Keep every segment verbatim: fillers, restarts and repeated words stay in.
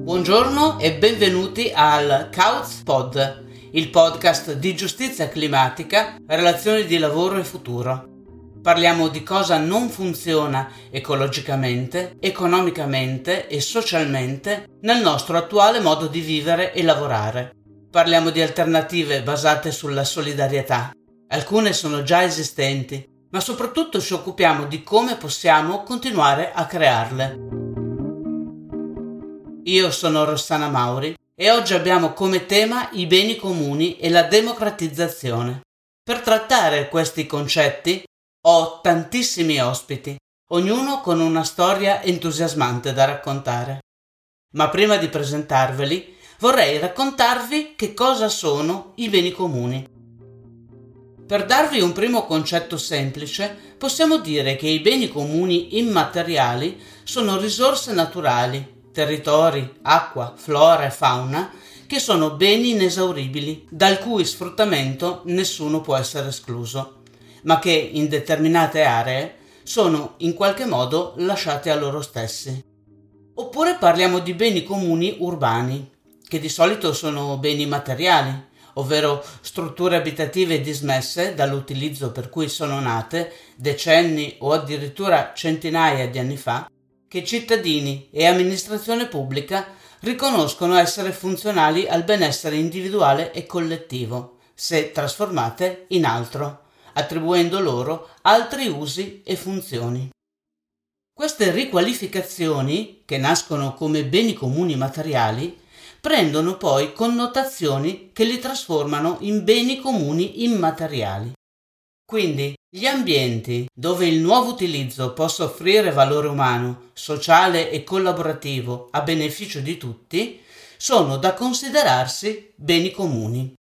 Buongiorno e benvenuti al Couch Pod, il podcast di giustizia climatica, relazioni di lavoro e futuro. Parliamo di cosa non funziona ecologicamente, economicamente e socialmente nel nostro attuale modo di vivere e lavorare. Parliamo di alternative basate sulla solidarietà. Alcune sono già esistenti, ma soprattutto ci occupiamo di come possiamo continuare a crearle. Io sono Rossana Mauri e oggi abbiamo come tema i beni comuni e la democratizzazione. Per trattare questi concetti ho tantissimi ospiti, ognuno con una storia entusiasmante da raccontare. Ma prima di presentarveli, vorrei raccontarvi che cosa sono i beni comuni. Per darvi un primo concetto semplice, possiamo dire che i beni comuni immateriali sono risorse naturali, territori, acqua, flora e fauna, che sono beni inesauribili, dal cui sfruttamento nessuno può essere escluso, ma che in determinate aree sono in qualche modo lasciati a loro stessi. Oppure parliamo di beni comuni urbani, che di solito sono beni materiali, ovvero strutture abitative dismesse dall'utilizzo per cui sono nate decenni o addirittura centinaia di anni fa, che cittadini e amministrazione pubblica riconoscono essere funzionali al benessere individuale e collettivo, se trasformate in altro, attribuendo loro altri usi e funzioni. Queste riqualificazioni, che nascono come beni comuni materiali, prendono poi connotazioni che li trasformano in beni comuni immateriali. Quindi gli ambienti dove il nuovo utilizzo possa offrire valore umano, sociale e collaborativo a beneficio di tutti sono da considerarsi beni comuni.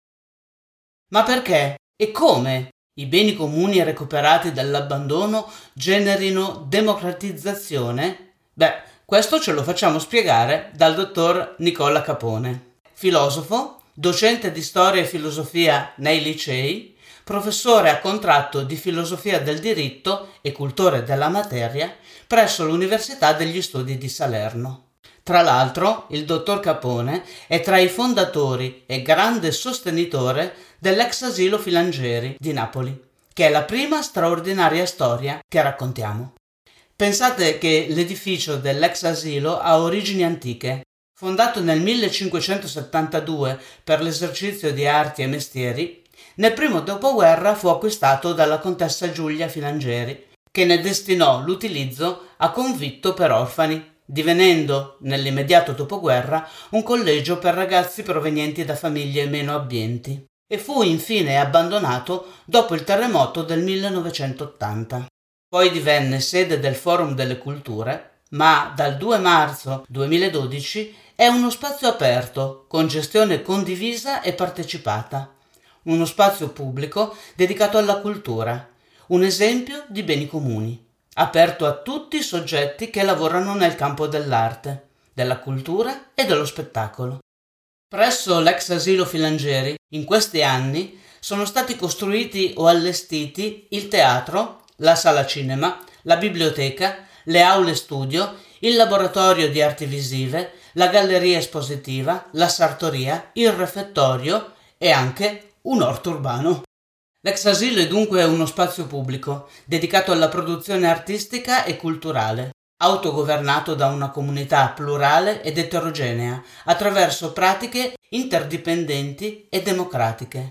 Ma perché e come i beni comuni recuperati dall'abbandono generino democratizzazione? Beh, questo ce lo facciamo spiegare dal dottor Nicola Capone, filosofo, docente di storia e filosofia nei licei, professore a contratto di filosofia del diritto e cultore della materia presso l'Università degli Studi di Salerno. Tra l'altro, il dottor Capone è tra i fondatori e grande sostenitore dell'ex asilo Filangieri di Napoli, che è la prima straordinaria storia che raccontiamo. Pensate che l'edificio dell'ex asilo ha origini antiche. Fondato nel millecinquecentosettantadue per l'esercizio di arti e mestieri, nel primo dopoguerra fu acquistato dalla contessa Giulia Filangieri, che ne destinò l'utilizzo a convitto per orfani, divenendo, nell'immediato dopoguerra, un collegio per ragazzi provenienti da famiglie meno abbienti, e fu infine abbandonato dopo il terremoto del millenovecentottanta. Poi divenne sede del Forum delle Culture, ma dal due marzo duemiladodici è uno spazio aperto, con gestione condivisa e partecipata. Uno spazio pubblico dedicato alla cultura, un esempio di beni comuni, aperto a tutti i soggetti che lavorano nel campo dell'arte, della cultura e dello spettacolo. Presso l'ex asilo Filangieri, in questi anni, sono stati costruiti o allestiti il teatro, la sala cinema, la biblioteca, le aule studio, il laboratorio di arti visive, la galleria espositiva, la sartoria, il refettorio e anche un orto urbano. L'ex asilo è dunque uno spazio pubblico dedicato alla produzione artistica e culturale, autogovernato da una comunità plurale ed eterogenea attraverso pratiche interdipendenti e democratiche.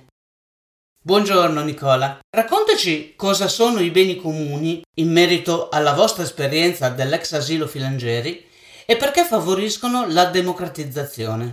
Buongiorno Nicola, raccontaci cosa sono i beni comuni in merito alla vostra esperienza dell'ex asilo Filangieri e perché favoriscono la democratizzazione.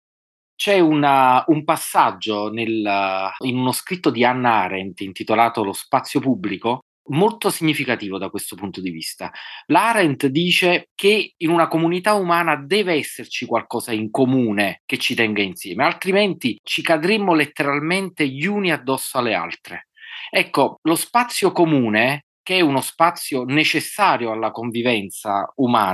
C'è una, un passaggio nel, in uno scritto di Hannah Arendt intitolato Lo spazio pubblico, molto significativo da questo punto di vista. La Arendt dice che in una comunità umana deve esserci qualcosa in comune che ci tenga insieme, altrimenti ci cadremmo letteralmente gli uni addosso alle altre. Ecco, lo spazio comune, che è uno spazio necessario alla convivenza umana,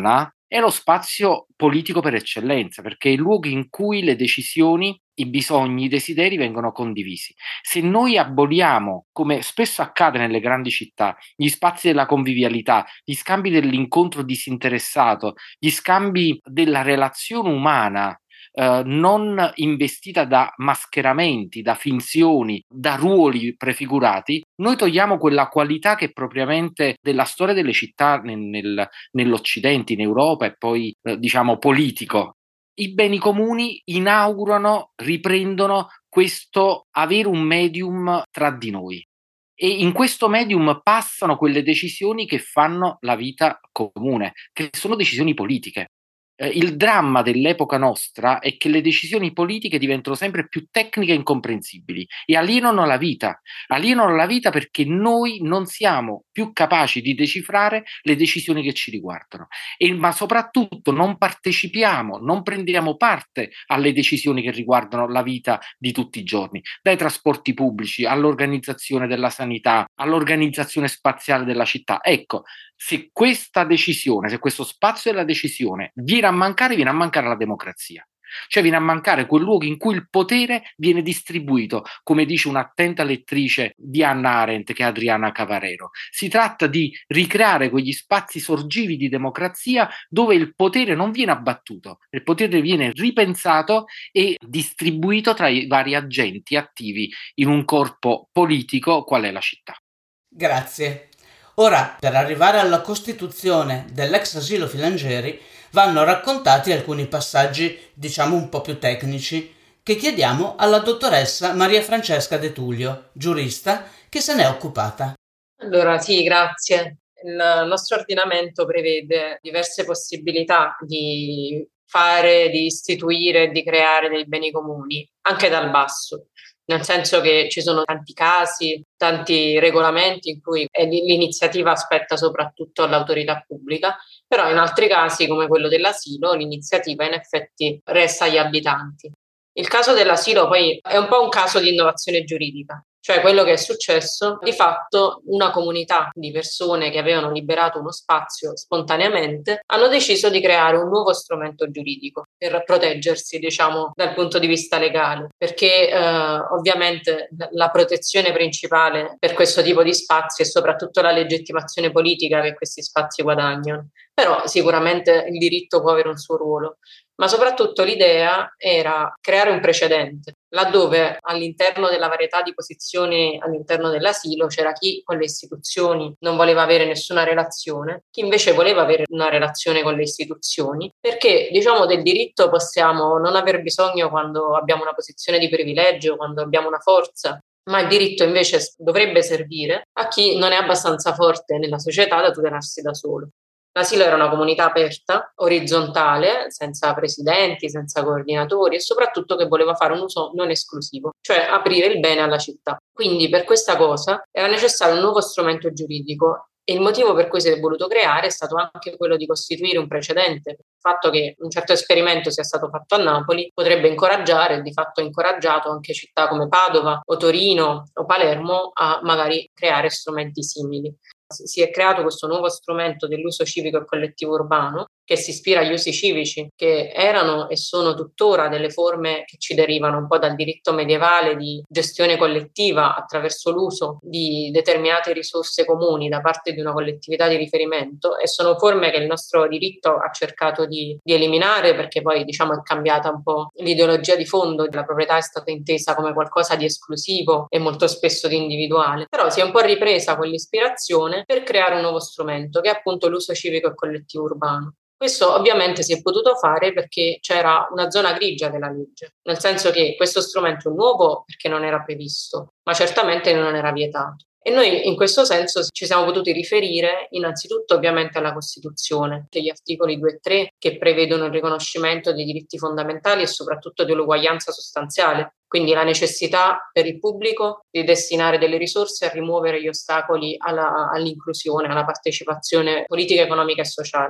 è lo spazio politico per eccellenza, perché è il luogo in cui le decisioni, i bisogni, i desideri vengono condivisi. Se noi aboliamo, come spesso accade nelle grandi città, gli spazi della convivialità, gli scambi dell'incontro disinteressato, gli scambi della relazione umana, eh, non investita da mascheramenti, da finzioni, da ruoli prefigurati, noi togliamo quella qualità che è propriamente della storia delle città nel, nel, nell'Occidente, in Europa e poi eh, diciamo politico. I beni comuni inaugurano, riprendono questo avere un medium tra di noi. E in questo medium passano quelle decisioni che fanno la vita comune, che sono decisioni politiche. Eh, il dramma dell'epoca nostra è che le decisioni politiche diventano sempre più tecniche e incomprensibili e alienano la vita, alienano la vita perché noi non siamo più capaci di decifrare le decisioni che ci riguardano, e, ma soprattutto non partecipiamo, non prendiamo parte alle decisioni che riguardano la vita di tutti i giorni, dai trasporti pubblici all'organizzazione della sanità, all'organizzazione spaziale della città. Ecco, se questa decisione, se questo spazio della decisione viene a mancare, viene a mancare la democrazia. Cioè viene a mancare quel luogo in cui il potere viene distribuito, come dice un'attenta lettrice di Hannah Arendt, che è Adriana Cavarero. Si tratta di ricreare quegli spazi sorgivi di democrazia dove il potere non viene abbattuto, il potere viene ripensato e distribuito tra i vari agenti attivi in un corpo politico qual è la città. Grazie. Ora, per arrivare alla costituzione dell'ex asilo Filangieri, vanno raccontati alcuni passaggi, diciamo un po' più tecnici, che chiediamo alla dottoressa Maria Francesca De Tullio, giurista, che se n'è occupata. Allora, sì, grazie. Il nostro ordinamento prevede diverse possibilità di fare, di istituire, di creare dei beni comuni, anche dal basso. Nel senso che ci sono tanti casi, tanti regolamenti in cui l'iniziativa spetta soprattutto all'autorità pubblica, però in altri casi, come quello dell'asilo, l'iniziativa in effetti resta agli abitanti. Il caso dell'asilo poi è un po' un caso di innovazione giuridica, cioè quello che è successo, di fatto una comunità di persone che avevano liberato uno spazio spontaneamente hanno deciso di creare un nuovo strumento giuridico per proteggersi, diciamo, dal punto di vista legale, perché eh, ovviamente la protezione principale per questo tipo di spazi è soprattutto la legittimazione politica che questi spazi guadagnano, però sicuramente il diritto può avere un suo ruolo. Ma soprattutto l'idea era creare un precedente, laddove all'interno della varietà di posizioni all'interno dell'asilo c'era chi con le istituzioni non voleva avere nessuna relazione, chi invece voleva avere una relazione con le istituzioni, perché diciamo del diritto possiamo non aver bisogno quando abbiamo una posizione di privilegio, quando abbiamo una forza, ma il diritto invece dovrebbe servire a chi non è abbastanza forte nella società da tutelarsi da solo. L'asilo era una comunità aperta, orizzontale, senza presidenti, senza coordinatori e soprattutto che voleva fare un uso non esclusivo, cioè aprire il bene alla città. Quindi per questa cosa era necessario un nuovo strumento giuridico e il motivo per cui si è voluto creare è stato anche quello di costituire un precedente. Il fatto che un certo esperimento sia stato fatto a Napoli potrebbe incoraggiare, e di fatto ha incoraggiato anche città come Padova o Torino o Palermo a magari creare strumenti simili. Si è creato questo nuovo strumento dell'uso civico e collettivo urbano che si ispira agli usi civici che erano e sono tuttora delle forme che ci derivano un po' dal diritto medievale di gestione collettiva attraverso l'uso di determinate risorse comuni da parte di una collettività di riferimento, e sono forme che il nostro diritto ha cercato di, di eliminare perché poi diciamo è cambiata un po' l'ideologia di fondo, la proprietà è stata intesa come qualcosa di esclusivo e molto spesso di individuale, però si è un po' ripresa quell'ispirazione per creare un nuovo strumento che è appunto l'uso civico e collettivo urbano. Questo ovviamente si è potuto fare perché c'era una zona grigia della legge, nel senso che questo strumento è nuovo perché non era previsto, ma certamente non era vietato. E noi in questo senso ci siamo potuti riferire innanzitutto ovviamente alla Costituzione, degli articoli due e tre che prevedono il riconoscimento dei diritti fondamentali e soprattutto dell'uguaglianza sostanziale, quindi la necessità per il pubblico di destinare delle risorse a rimuovere gli ostacoli alla, all'inclusione, alla partecipazione politica, economica e sociale.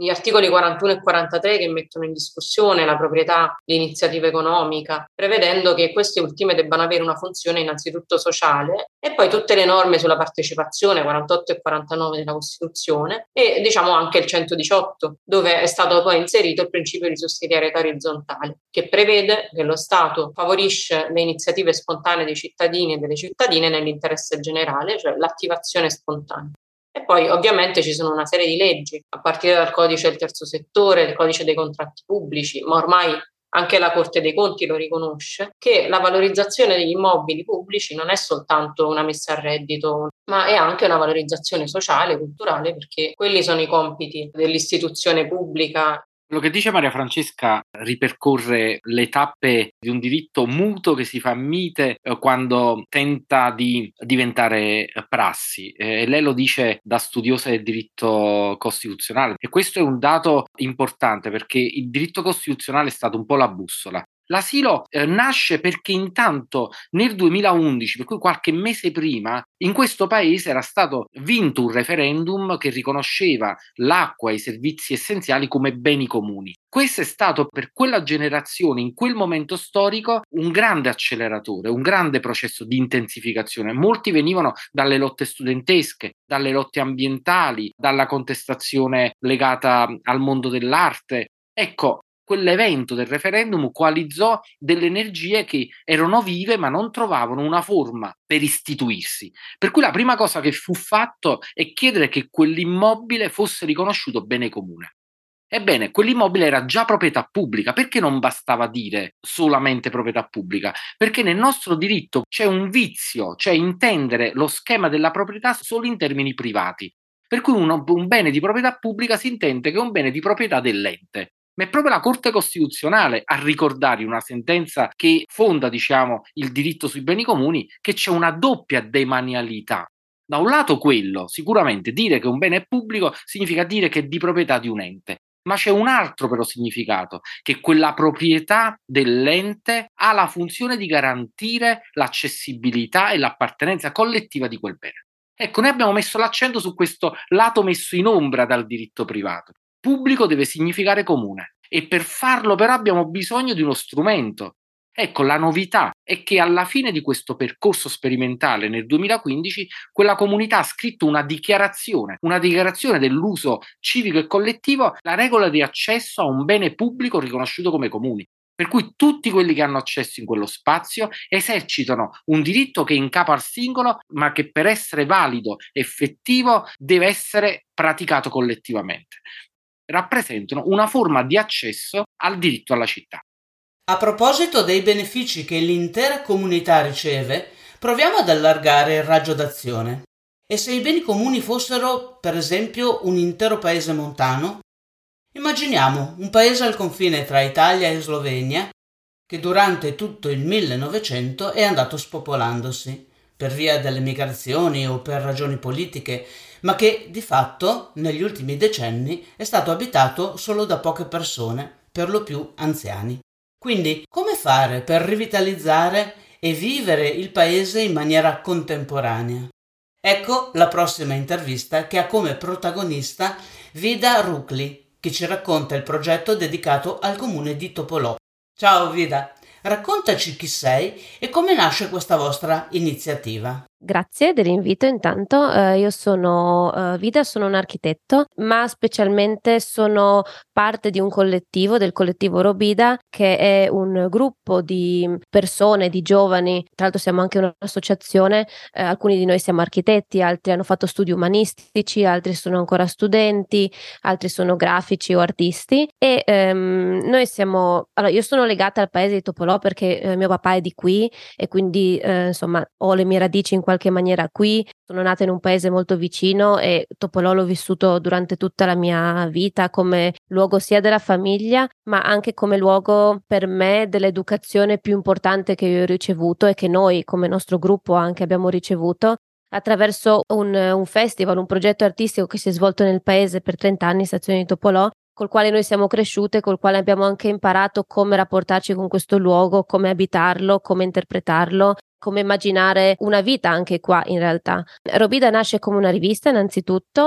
gli articoli quarantuno e quarantatré che mettono in discussione la proprietà di iniziativa economica, prevedendo che queste ultime debbano avere una funzione innanzitutto sociale, e poi tutte le norme sulla partecipazione, quarantotto e quarantanove della Costituzione, e diciamo anche il centodiciotto, dove è stato poi inserito il principio di sussidiarietà orizzontale, che prevede che lo Stato favorisce le iniziative spontanee dei cittadini e delle cittadine nell'interesse generale, cioè l'attivazione spontanea. E poi ovviamente ci sono una serie di leggi, a partire dal codice del terzo settore, il codice dei contratti pubblici, ma ormai anche la Corte dei Conti lo riconosce, che la valorizzazione degli immobili pubblici non è soltanto una messa a reddito, ma è anche una valorizzazione sociale, culturale, perché quelli sono i compiti dell'istituzione pubblica. Quello che dice Maria Francesca ripercorre le tappe di un diritto muto che si fa mite eh, quando tenta di diventare prassi. Eh, lei lo dice da studiosa del diritto costituzionale, e questo è un dato importante perché il diritto costituzionale è stato un po' la bussola. L'asilo eh, nasce perché intanto nel duemilaundici, per cui qualche mese prima, in questo paese era stato vinto un referendum che riconosceva l'acqua e i servizi essenziali come beni comuni. Questo è stato per quella generazione, in quel momento storico, un grande acceleratore, un grande processo di intensificazione. Molti venivano dalle lotte studentesche, dalle lotte ambientali, dalla contestazione legata al mondo dell'arte. Ecco, quell'evento del referendum coalizzò delle energie che erano vive ma non trovavano una forma per istituirsi. Per cui la prima cosa che fu fatto è chiedere che quell'immobile fosse riconosciuto bene comune. Ebbene, quell'immobile era già proprietà pubblica. Perché non bastava dire solamente proprietà pubblica? Perché nel nostro diritto c'è un vizio, cioè intendere lo schema della proprietà solo in termini privati. Per cui uno, un bene di proprietà pubblica si intende che è un bene di proprietà dell'ente. Ma è proprio la Corte Costituzionale a ricordare, una sentenza che fonda, diciamo, il diritto sui beni comuni, che c'è una doppia demanialità. Da un lato quello, sicuramente dire che un bene è pubblico significa dire che è di proprietà di un ente, ma c'è un altro però significato, che quella proprietà dell'ente ha la funzione di garantire l'accessibilità e l'appartenenza collettiva di quel bene. Ecco, noi abbiamo messo l'accento su questo lato messo in ombra dal diritto privato. Pubblico deve significare comune, e per farlo però abbiamo bisogno di uno strumento. Ecco, la novità è che alla fine di questo percorso sperimentale nel duemilaquindici quella comunità ha scritto una dichiarazione, una dichiarazione dell'uso civico e collettivo, la regola di accesso a un bene pubblico riconosciuto come comune. Per cui tutti quelli che hanno accesso in quello spazio esercitano un diritto che è in capo al singolo, ma che per essere valido, effettivo, deve essere praticato collettivamente. Rappresentano una forma di accesso al diritto alla città. A proposito dei benefici che l'intera comunità riceve, proviamo ad allargare il raggio d'azione. E se i beni comuni fossero, per esempio, un intero paese montano? Immaginiamo un paese al confine tra Italia e Slovenia che durante tutto il millenovecento è andato spopolandosi per via delle migrazioni o per ragioni politiche, ma che di fatto negli ultimi decenni è stato abitato solo da poche persone, per lo più anziani. Quindi, come fare per rivitalizzare e vivere il paese in maniera contemporanea? Ecco la prossima intervista che ha come protagonista Vida Rukli, che ci racconta il progetto dedicato al comune di Topolò. Ciao Vida, raccontaci chi sei e come nasce questa vostra iniziativa. Grazie dell'invito. Intanto eh, io sono eh, Vida, sono un architetto, ma specialmente sono parte di un collettivo, del collettivo Robida, che è un gruppo di persone, di giovani. Tra l'altro siamo anche un'associazione, eh, alcuni di noi siamo architetti, altri hanno fatto studi umanistici, altri sono ancora studenti, altri sono grafici o artisti, e ehm, noi siamo, allora io sono legata al paese di Topolò perché eh, mio papà è di qui e quindi eh, insomma ho le mie radici in qualche maniera qui. Sono nata in un paese molto vicino e Topolò l'ho vissuto durante tutta la mia vita come luogo sia della famiglia, ma anche come luogo per me dell'educazione più importante che io ho ricevuto e che noi come nostro gruppo anche abbiamo ricevuto attraverso un, un festival, un progetto artistico che si è svolto nel paese per trenta anni, Stazione di Topolò, col quale noi siamo cresciute, col quale abbiamo anche imparato come rapportarci con questo luogo, come abitarlo, come interpretarlo, come immaginare una vita anche qua in realtà. Robida nasce come una rivista innanzitutto,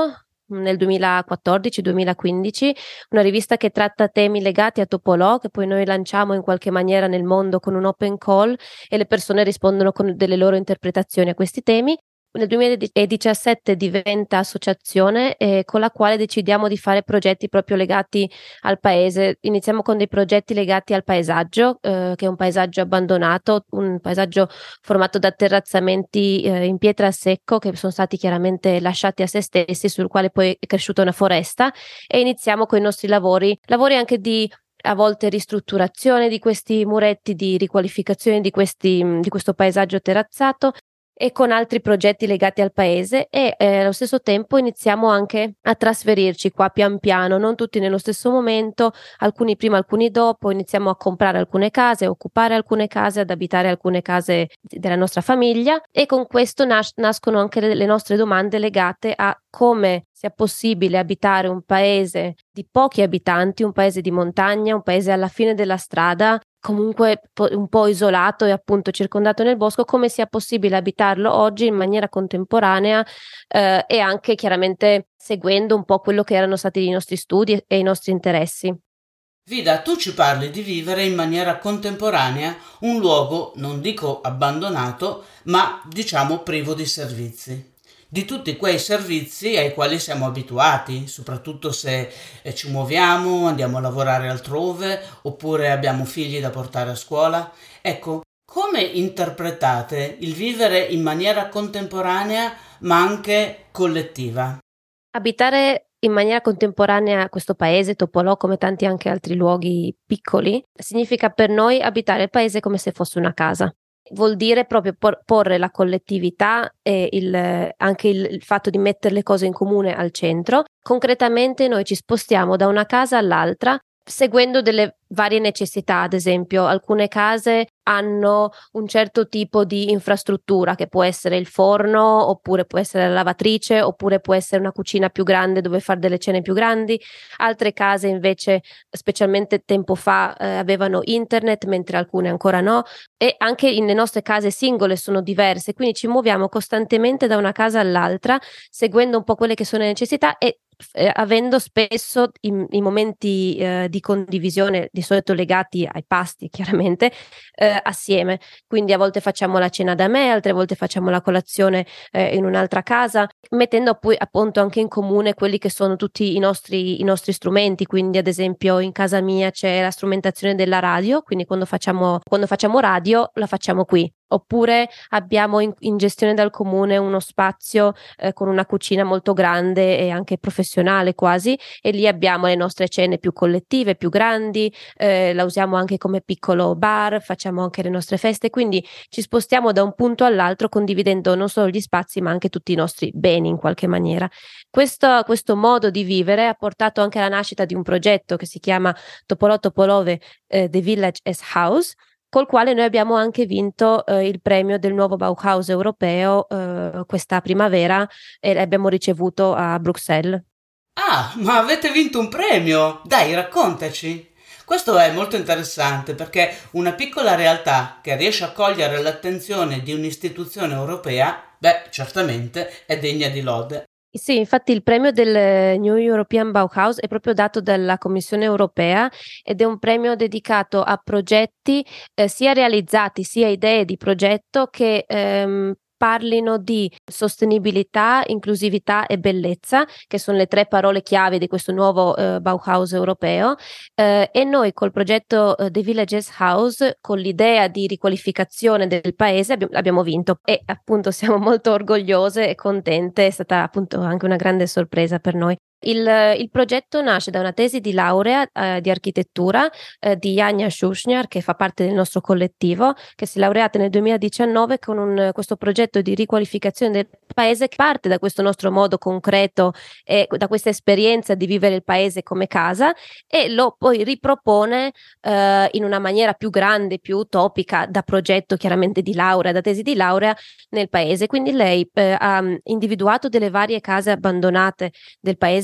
nel duemilaquattordici duemilaquindici, una rivista che tratta temi legati a Topolò, che poi noi lanciamo in qualche maniera nel mondo con un open call e le persone rispondono con delle loro interpretazioni a questi temi. Nel duemiladiciassette diventa associazione eh, con la quale decidiamo di fare progetti proprio legati al paese. Iniziamo con dei progetti legati al paesaggio, eh, che è un paesaggio abbandonato, un paesaggio formato da terrazzamenti eh, in pietra a secco che sono stati chiaramente lasciati a se stessi, sul quale poi è cresciuta una foresta, e iniziamo con i nostri lavori, lavori anche di a volte ristrutturazione di questi muretti, di riqualificazione di, questi, di questo paesaggio terrazzato, e con altri progetti legati al paese, e eh, allo stesso tempo iniziamo anche a trasferirci qua pian piano, non tutti nello stesso momento, alcuni prima, alcuni dopo. Iniziamo a comprare alcune case, a occupare alcune case, ad abitare alcune case della nostra famiglia, e con questo nas- nascono anche le, le nostre domande legate a come sia possibile abitare un paese di pochi abitanti, un paese di montagna, un paese alla fine della strada, comunque un po' isolato e appunto circondato nel bosco, come sia possibile abitarlo oggi in maniera contemporanea eh, e anche chiaramente seguendo un po' quello che erano stati i nostri studi e i nostri interessi. Vida, tu ci parli di vivere in maniera contemporanea un luogo, non dico abbandonato, ma diciamo privo di servizi. Di tutti quei servizi ai quali siamo abituati, soprattutto se eh, ci muoviamo, andiamo a lavorare altrove, oppure abbiamo figli da portare a scuola. Ecco, come interpretate il vivere in maniera contemporanea ma anche collettiva? Abitare in maniera contemporanea questo paese, Topolò, come tanti anche altri luoghi piccoli, significa per noi abitare il paese come se fosse una casa. Vuol dire proprio por- porre la collettività e il, anche il, il fatto di mettere le cose in comune al centro. Concretamente noi ci spostiamo da una casa all'altra seguendo delle varie necessità. Ad esempio, alcune case hanno un certo tipo di infrastruttura, che può essere il forno, oppure può essere la lavatrice, oppure può essere una cucina più grande dove fare delle cene più grandi. Altre case invece, specialmente tempo fa, eh, avevano internet, mentre alcune ancora no, e anche in, le nostre case singole sono diverse, quindi ci muoviamo costantemente da una casa all'altra seguendo un po' quelle che sono le necessità e eh, avendo spesso i, i momenti eh, di condivisione, di solito legati ai pasti chiaramente, eh, assieme. Quindi a volte facciamo la cena da me, altre volte facciamo la colazione eh, in un'altra casa, mettendo poi appunto anche in comune quelli che sono tutti i nostri, i nostri strumenti. Quindi ad esempio in casa mia c'è la strumentazione della radio, quindi quando facciamo, quando facciamo radio la facciamo qui. Oppure abbiamo in, in gestione dal comune uno spazio eh, con una cucina molto grande e anche professionale quasi, e lì abbiamo le nostre cene più collettive, più grandi, eh, la usiamo anche come piccolo bar, facciamo anche le nostre feste, quindi ci spostiamo da un punto all'altro condividendo non solo gli spazi ma anche tutti i nostri beni in qualche maniera. Questo, questo modo di vivere ha portato anche alla nascita di un progetto che si chiama Topolò Topolove eh, The Village as House, col quale noi abbiamo anche vinto eh, il premio del nuovo Bauhaus europeo eh, questa primavera, e l'abbiamo ricevuto a Bruxelles. Ah, ma avete vinto un premio! Dai, raccontaci! Questo è molto interessante perché una piccola realtà che riesce a cogliere l'attenzione di un'istituzione europea, beh, certamente è degna di lode. Sì, infatti il premio del New European Bauhaus è proprio dato dalla Commissione europea ed è un premio dedicato a progetti eh, sia realizzati, sia idee di progetto che ehm, parlino di sostenibilità, inclusività e bellezza, che sono le tre parole chiave di questo nuovo eh, Bauhaus europeo, eh, e noi col progetto eh, The Villages House, con l'idea di riqualificazione del paese, abbiamo, abbiamo vinto, e appunto siamo molto orgogliose e contente. È stata appunto anche una grande sorpresa per noi. Il, il progetto nasce da una tesi di laurea eh, di architettura eh, di Janja Schuschner, che fa parte del nostro collettivo, che si è laureata nel duemiladiciannove con un, questo progetto di riqualificazione del paese, che parte da questo nostro modo concreto e da questa esperienza di vivere il paese come casa, e lo poi ripropone eh, in una maniera più grande, più utopica, da progetto chiaramente di laurea, da tesi di laurea nel paese. Quindi lei eh, ha individuato delle varie case abbandonate del paese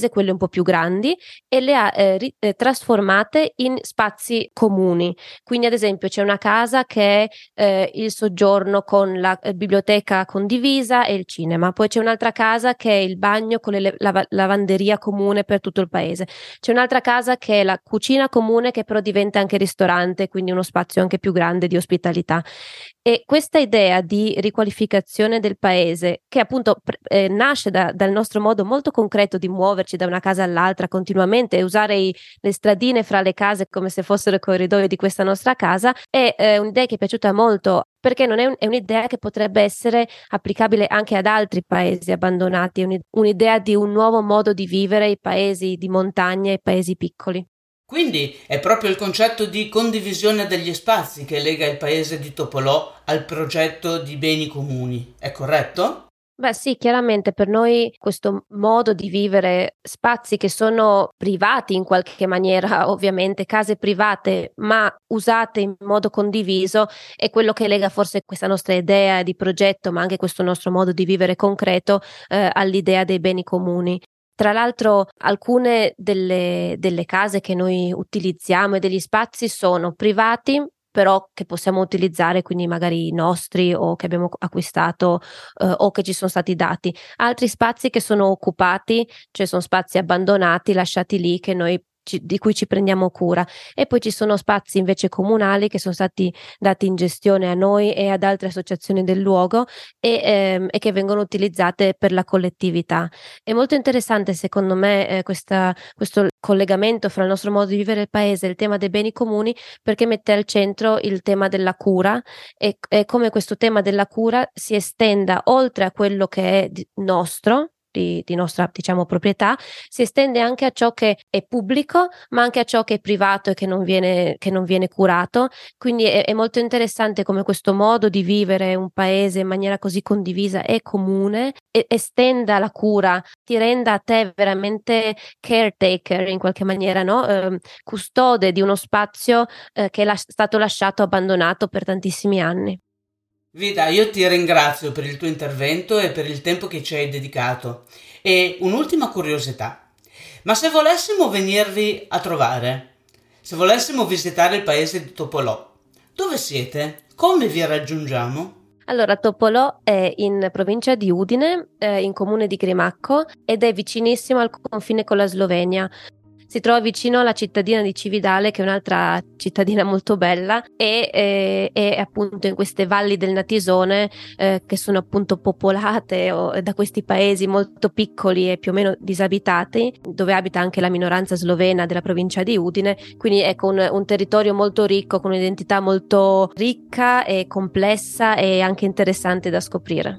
quelle un po' più grandi, e le ha eh, ri- eh, trasformate in spazi comuni. Quindi ad esempio c'è una casa che è eh, il soggiorno con la eh, biblioteca condivisa e il cinema, poi c'è un'altra casa che è il bagno con le lava- lavanderia comune per tutto il paese, c'è un'altra casa che è la cucina comune che però diventa anche ristorante, quindi uno spazio anche più grande di ospitalità. E questa idea di riqualificazione del paese, che appunto eh, nasce da, dal nostro modo molto concreto di muoverci da una casa all'altra continuamente e usare i, le stradine fra le case come se fossero i corridoi di questa nostra casa, è eh, un'idea che è piaciuta molto, perché non è, un, è un'idea che potrebbe essere applicabile anche ad altri paesi abbandonati, è un'idea di un nuovo modo di vivere i paesi di montagna e i paesi piccoli. Quindi è proprio il concetto di condivisione degli spazi che lega il paese di Topolò al progetto di beni comuni, è corretto? Beh sì, chiaramente per noi questo modo di vivere, spazi che sono privati in qualche maniera, ovviamente case private, ma usate in modo condiviso, è quello che lega forse questa nostra idea di progetto, ma anche questo nostro modo di vivere concreto eh, all'idea dei beni comuni. Tra l'altro alcune delle, delle case che noi utilizziamo e degli spazi sono privati, però che possiamo utilizzare, quindi magari nostri o che abbiamo acquistato eh, o che ci sono stati dati. Altri spazi che sono occupati, cioè sono spazi abbandonati, lasciati lì, che noi ci, di cui ci prendiamo cura. E poi ci sono spazi invece comunali che sono stati dati in gestione a noi e ad altre associazioni del luogo e, ehm, e che vengono utilizzate per la collettività. È molto interessante secondo me eh, questa, questo collegamento fra il nostro modo di vivere il paese e il tema dei beni comuni, perché mette al centro il tema della cura e, e come questo tema della cura si estenda oltre a quello che è di- nostro, di, di nostra diciamo proprietà, si estende anche a ciò che è pubblico, ma anche a ciò che è privato e che non viene, che non viene curato. Quindi è, è molto interessante come questo modo di vivere un paese in maniera così condivisa e comune e, estenda la cura, ti renda a te veramente caretaker in qualche maniera, no? Eh, custode di uno spazio eh, che è la- stato lasciato abbandonato per tantissimi anni. Vida, io ti ringrazio per il tuo intervento e per il tempo che ci hai dedicato. E un'ultima curiosità. Ma se volessimo venirvi a trovare, se volessimo visitare il paese di Topolò, dove siete? Come vi raggiungiamo? Allora, Topolò è in provincia di Udine, eh, in comune di Grimacco, ed è vicinissimo al confine con la Slovenia. Si trova vicino alla cittadina di Cividale, che è un'altra cittadina molto bella, e eh, è appunto in queste valli del Natisone eh, che sono appunto popolate o, da questi paesi molto piccoli e più o meno disabitati, dove abita anche la minoranza slovena della provincia di Udine, quindi ecco un, un territorio molto ricco, con un'identità molto ricca e complessa e anche interessante da scoprire.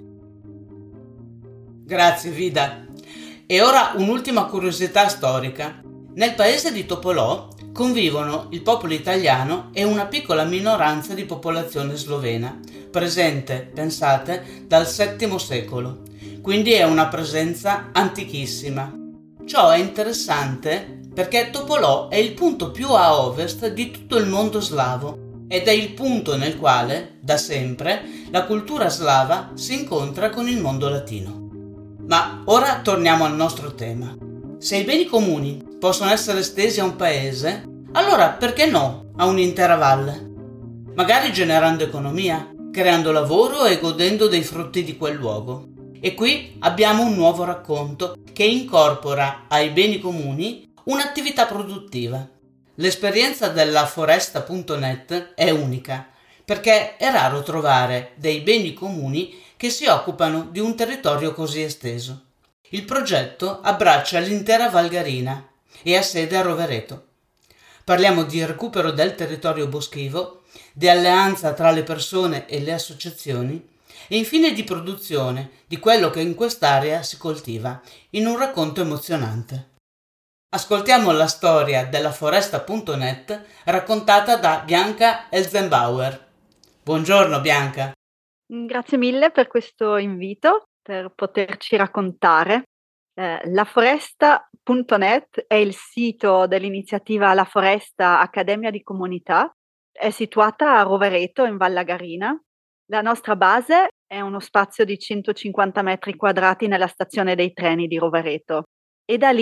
Grazie, Vida. E ora un'ultima curiosità storica. Nel paese di Topolò convivono il popolo italiano e una piccola minoranza di popolazione slovena, presente, pensate, dal settimo secolo. Quindi è una presenza antichissima. Ciò è interessante perché Topolò è il punto più a ovest di tutto il mondo slavo ed è il punto nel quale, da sempre, la cultura slava si incontra con il mondo latino. Ma ora torniamo al nostro tema. Se i beni comuni possono essere estesi a un paese, allora perché no a un'intera valle? Magari generando economia, creando lavoro e godendo dei frutti di quel luogo. E qui abbiamo un nuovo racconto che incorpora ai beni comuni un'attività produttiva. L'esperienza della foresta punto net è unica, perché è raro trovare dei beni comuni che si occupano di un territorio così esteso. Il progetto abbraccia l'intera Val Garina e ha sede a Rovereto. Parliamo di recupero del territorio boschivo, di alleanza tra le persone e le associazioni e infine di produzione di quello che in quest'area si coltiva, in un racconto emozionante. Ascoltiamo la storia della foresta punto net raccontata da Bianca Elzenbauer. Buongiorno Bianca. Grazie mille per questo invito, per poterci raccontare. Eh, la foresta punto net è il sito dell'iniziativa La Foresta Accademia di Comunità. È situata a Rovereto, in Val Garina. La nostra base è uno spazio di centocinquanta metri quadrati nella stazione dei treni di Rovereto e da lì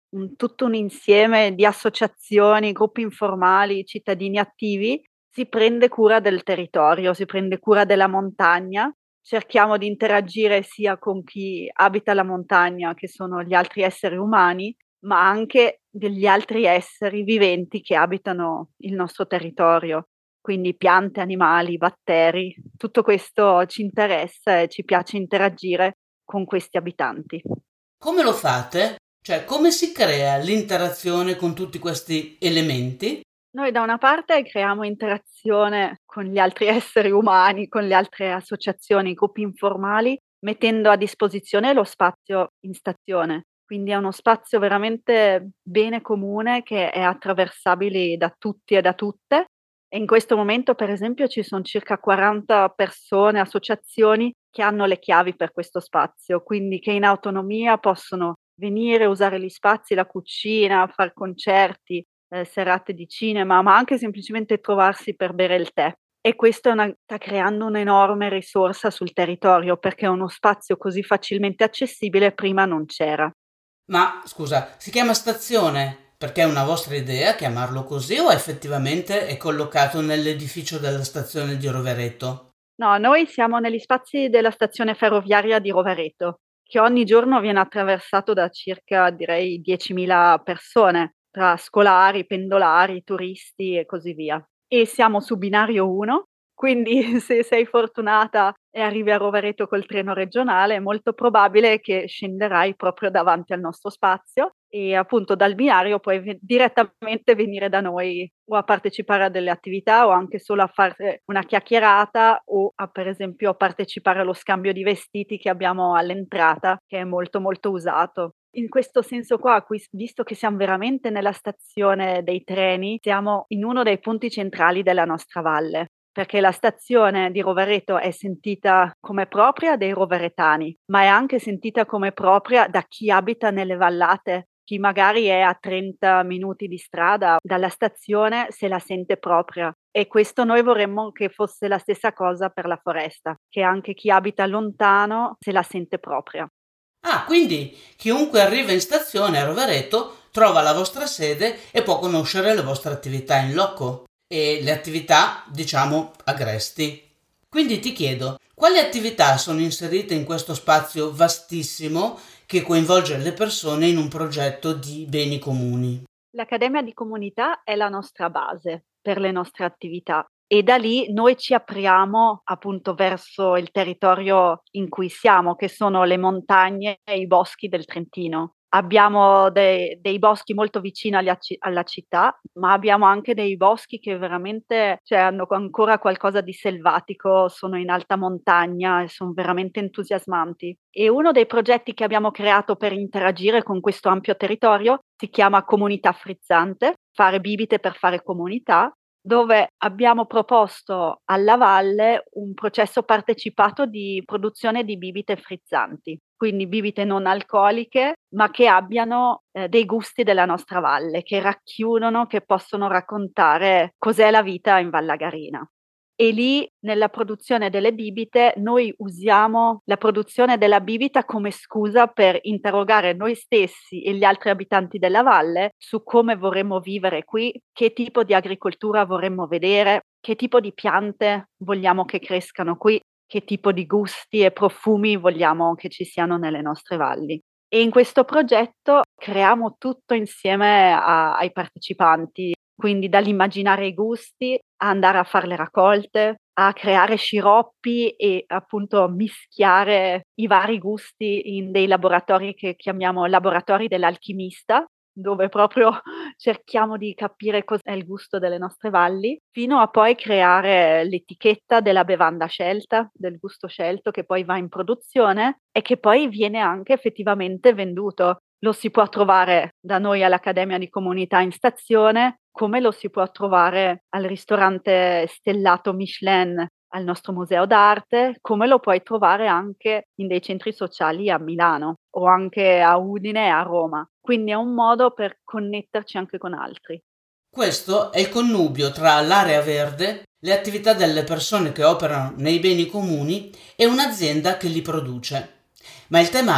un, tutto un insieme di associazioni, gruppi informali, cittadini attivi, si prende cura del territorio, si prende cura della montagna. Cerchiamo di interagire sia con chi abita la montagna, che sono gli altri esseri umani, ma anche degli altri esseri viventi che abitano il nostro territorio. Quindi piante, animali, batteri, tutto questo ci interessa e ci piace interagire con questi abitanti. Come lo fate? Cioè, come si crea l'interazione con tutti questi elementi? Noi da una parte creiamo interazione con gli altri esseri umani, con le altre associazioni, gruppi informali, mettendo a disposizione lo spazio in stazione. Quindi è uno spazio veramente bene comune che è attraversabile da tutti e da tutte. E in questo momento, per esempio, ci sono circa quaranta persone, associazioni che hanno le chiavi per questo spazio, quindi che in autonomia possono venire, usare gli spazi, la cucina, fare concerti, eh, serate di cinema, ma anche semplicemente trovarsi per bere il tè. E questo è una, sta creando un'enorme risorsa sul territorio, perché uno spazio così facilmente accessibile prima non c'era. Ma scusa, si chiama stazione perché è una vostra idea chiamarlo così o effettivamente è collocato nell'edificio della stazione di Rovereto? No, noi siamo negli spazi della stazione ferroviaria di Rovereto, che ogni giorno viene attraversato da circa, direi, diecimila persone, tra scolari, pendolari, turisti e così via. E siamo su binario uno, quindi se sei fortunata e arrivi a Rovereto col treno regionale, è molto probabile che scenderai proprio davanti al nostro spazio e appunto dal binario puoi ve- direttamente venire da noi o a partecipare a delle attività o anche solo a fare una chiacchierata o a, per esempio, partecipare allo scambio di vestiti che abbiamo all'entrata, che è molto molto usato. In questo senso qua, qui- visto che siamo veramente nella stazione dei treni, siamo in uno dei punti centrali della nostra valle, perché la stazione di Rovereto è sentita come propria dei roveretani, ma è anche sentita come propria da chi abita nelle vallate. Chi magari è a trenta minuti di strada dalla stazione se la sente propria. E questo noi vorremmo che fosse la stessa cosa per la foresta, che anche chi abita lontano se la sente propria. Ah, quindi chiunque arriva in stazione a Rovereto trova la vostra sede e può conoscere le vostre attività in loco e le attività, diciamo, agresti. Quindi ti chiedo, quali attività sono inserite in questo spazio vastissimo che coinvolge le persone in un progetto di beni comuni? L'Accademia di Comunità è la nostra base per le nostre attività e da lì noi ci apriamo appunto verso il territorio in cui siamo, che sono le montagne e i boschi del Trentino. Abbiamo dei, dei boschi molto vicini alla, alla città, ma abbiamo anche dei boschi che veramente, cioè, hanno ancora qualcosa di selvatico, sono in alta montagna e sono veramente entusiasmanti. E uno dei progetti che abbiamo creato per interagire con questo ampio territorio si chiama Comunità Frizzante, fare bibite per fare comunità, dove abbiamo proposto alla valle un processo partecipato di produzione di bibite frizzanti, quindi bibite non alcoliche, ma che abbiano eh, dei gusti della nostra valle, che racchiudono, che possono raccontare cos'è la vita in Vallagarina. E lì, nella produzione delle bibite, noi usiamo la produzione della bibita come scusa per interrogare noi stessi e gli altri abitanti della valle su come vorremmo vivere qui, che tipo di agricoltura vorremmo vedere, che tipo di piante vogliamo che crescano qui, che tipo di gusti e profumi vogliamo che ci siano nelle nostre valli. E in questo progetto creiamo tutto insieme a, ai partecipanti, quindi dall'immaginare i gusti, a andare a fare le raccolte, a creare sciroppi e appunto mischiare i vari gusti in dei laboratori che chiamiamo laboratori dell'alchimista, dove proprio cerchiamo di capire cos'è il gusto delle nostre valli, fino a poi creare l'etichetta della bevanda scelta, del gusto scelto che poi va in produzione e che poi viene anche effettivamente venduto. Lo si può trovare da noi all'Accademia di Comunità in stazione, come lo si può trovare al ristorante stellato Michelin al nostro museo d'arte, come lo puoi trovare anche in dei centri sociali a Milano o anche a Udine e a Roma. Quindi è un modo per connetterci anche con altri. Questo è il connubio tra l'area verde, le attività delle persone che operano nei beni comuni e un'azienda che li produce. Ma il tema è: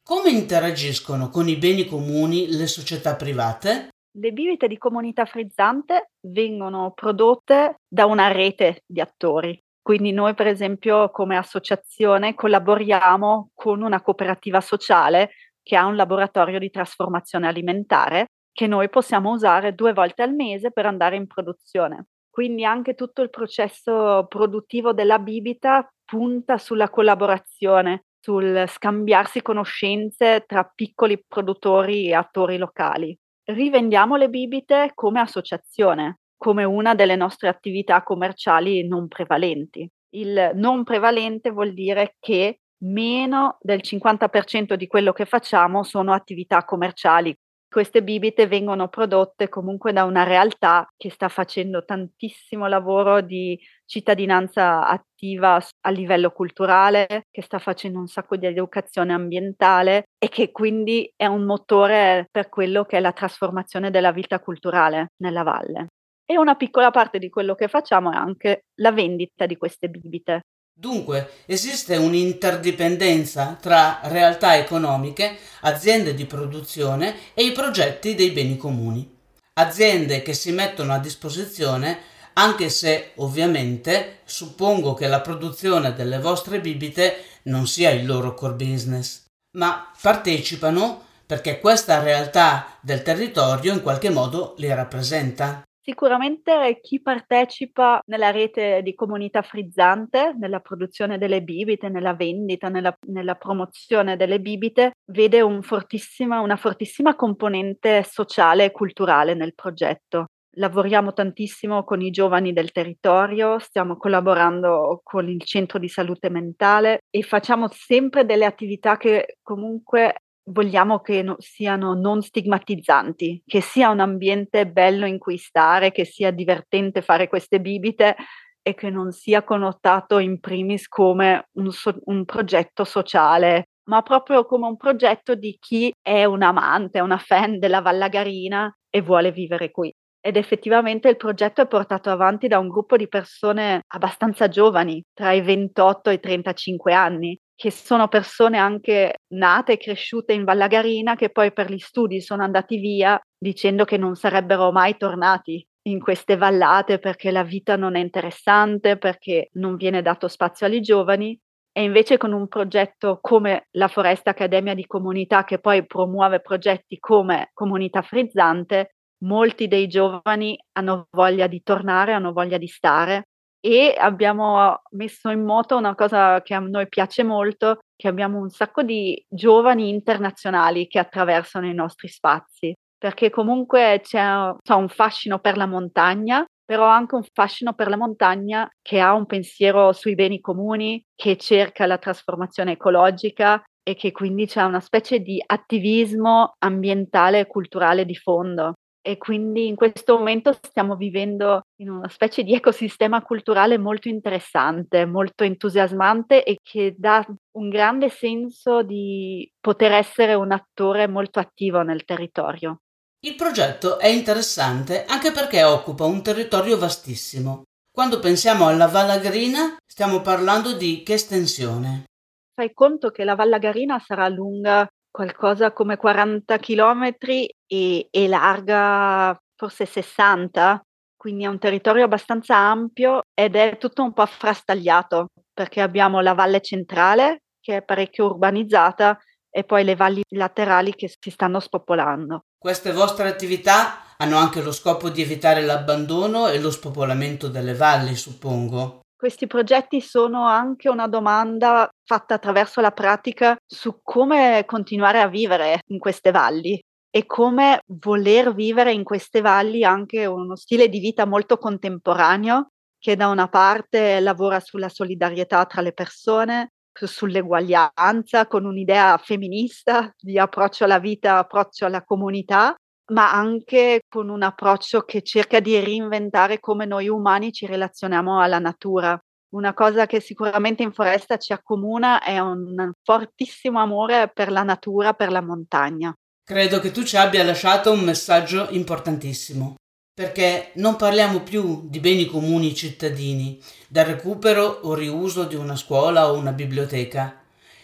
Come interagiscono con i beni comuni le società private? Le bibite di Comunità Frizzante vengono prodotte da una rete di attori. Quindi noi, per esempio, come associazione collaboriamo con una cooperativa sociale che ha un laboratorio di trasformazione alimentare che noi possiamo usare due volte al mese per andare in produzione. Quindi anche tutto il processo produttivo della bibita punta sulla collaborazione, sul scambiarsi conoscenze tra piccoli produttori e attori locali. Rivendiamo le bibite come associazione, come una delle nostre attività commerciali non prevalenti. Il non prevalente vuol dire che meno del cinquanta per cento di quello che facciamo sono attività commerciali. Queste bibite vengono prodotte comunque da una realtà che sta facendo tantissimo lavoro di cittadinanza attiva a livello culturale, che sta facendo un sacco di educazione ambientale e che quindi è un motore per quello che è la trasformazione della vita culturale nella valle. E una piccola parte di quello che facciamo è anche la vendita di queste bibite. Dunque, esiste un'interdipendenza tra realtà economiche, aziende di produzione e i progetti dei beni comuni. Aziende che si mettono a disposizione, anche se ovviamente suppongo che la produzione delle vostre bibite non sia il loro core business, ma partecipano perché questa realtà del territorio in qualche modo li rappresenta. Sicuramente chi partecipa nella rete di Comunità Frizzante, nella produzione delle bibite, nella vendita, nella, nella promozione delle bibite, vede un fortissima, una fortissima componente sociale e culturale nel progetto. Lavoriamo tantissimo con i giovani del territorio, stiamo collaborando con il centro di salute mentale e facciamo sempre delle attività che comunque vogliamo che no, siano non stigmatizzanti, che sia un ambiente bello in cui stare, che sia divertente fare queste bibite e che non sia connotato in primis come un, so- un progetto sociale, ma proprio come un progetto di chi è un amante, una fan della Vallagarina e vuole vivere qui. Ed effettivamente il progetto è portato avanti da un gruppo di persone abbastanza giovani, tra i ventotto e i trentacinque anni, che sono persone anche nate e cresciute in Vallagarina che poi per gli studi sono andati via dicendo che non sarebbero mai tornati in queste vallate perché la vita non è interessante, perché non viene dato spazio ai giovani. E invece con un progetto come la Foresta Accademia di Comunità, che poi promuove progetti come Comunità Frizzante, molti dei giovani hanno voglia di tornare, hanno voglia di stare. E abbiamo messo in moto una cosa che a noi piace molto, che abbiamo un sacco di giovani internazionali che attraversano i nostri spazi, perché comunque c'è, c'è un fascino per la montagna, però anche un fascino per la montagna che ha un pensiero sui beni comuni, che cerca la trasformazione ecologica e che quindi c'è una specie di attivismo ambientale e culturale di fondo. E quindi in questo momento stiamo vivendo in una specie di ecosistema culturale molto interessante, molto entusiasmante e che dà un grande senso di poter essere un attore molto attivo nel territorio. Il progetto è interessante anche perché occupa un territorio vastissimo. Quando pensiamo alla Vallagarina stiamo parlando di che estensione? Fai conto che la Vallagarina sarà lunga qualcosa come quaranta chilometri e, e larga forse sessanta, quindi è un territorio abbastanza ampio ed è tutto un po' frastagliato perché abbiamo la valle centrale che è parecchio urbanizzata e poi le valli laterali che si stanno spopolando. Queste vostre attività hanno anche lo scopo di evitare l'abbandono e lo spopolamento delle valli, suppongo. Questi progetti sono anche una domanda fatta attraverso la pratica su come continuare a vivere in queste valli e come voler vivere in queste valli anche uno stile di vita molto contemporaneo che da una parte lavora sulla solidarietà tra le persone, sull'eguaglianza, con un'idea femminista di approccio alla vita, approccio alla comunità, ma anche con un approccio che cerca di reinventare come noi umani ci relazioniamo alla natura. Una cosa che sicuramente in foresta ci accomuna è un fortissimo amore per la natura, per la montagna. Credo che tu ci abbia lasciato un messaggio importantissimo, perché non parliamo più di beni comuni cittadini, del recupero o riuso di una scuola o una biblioteca.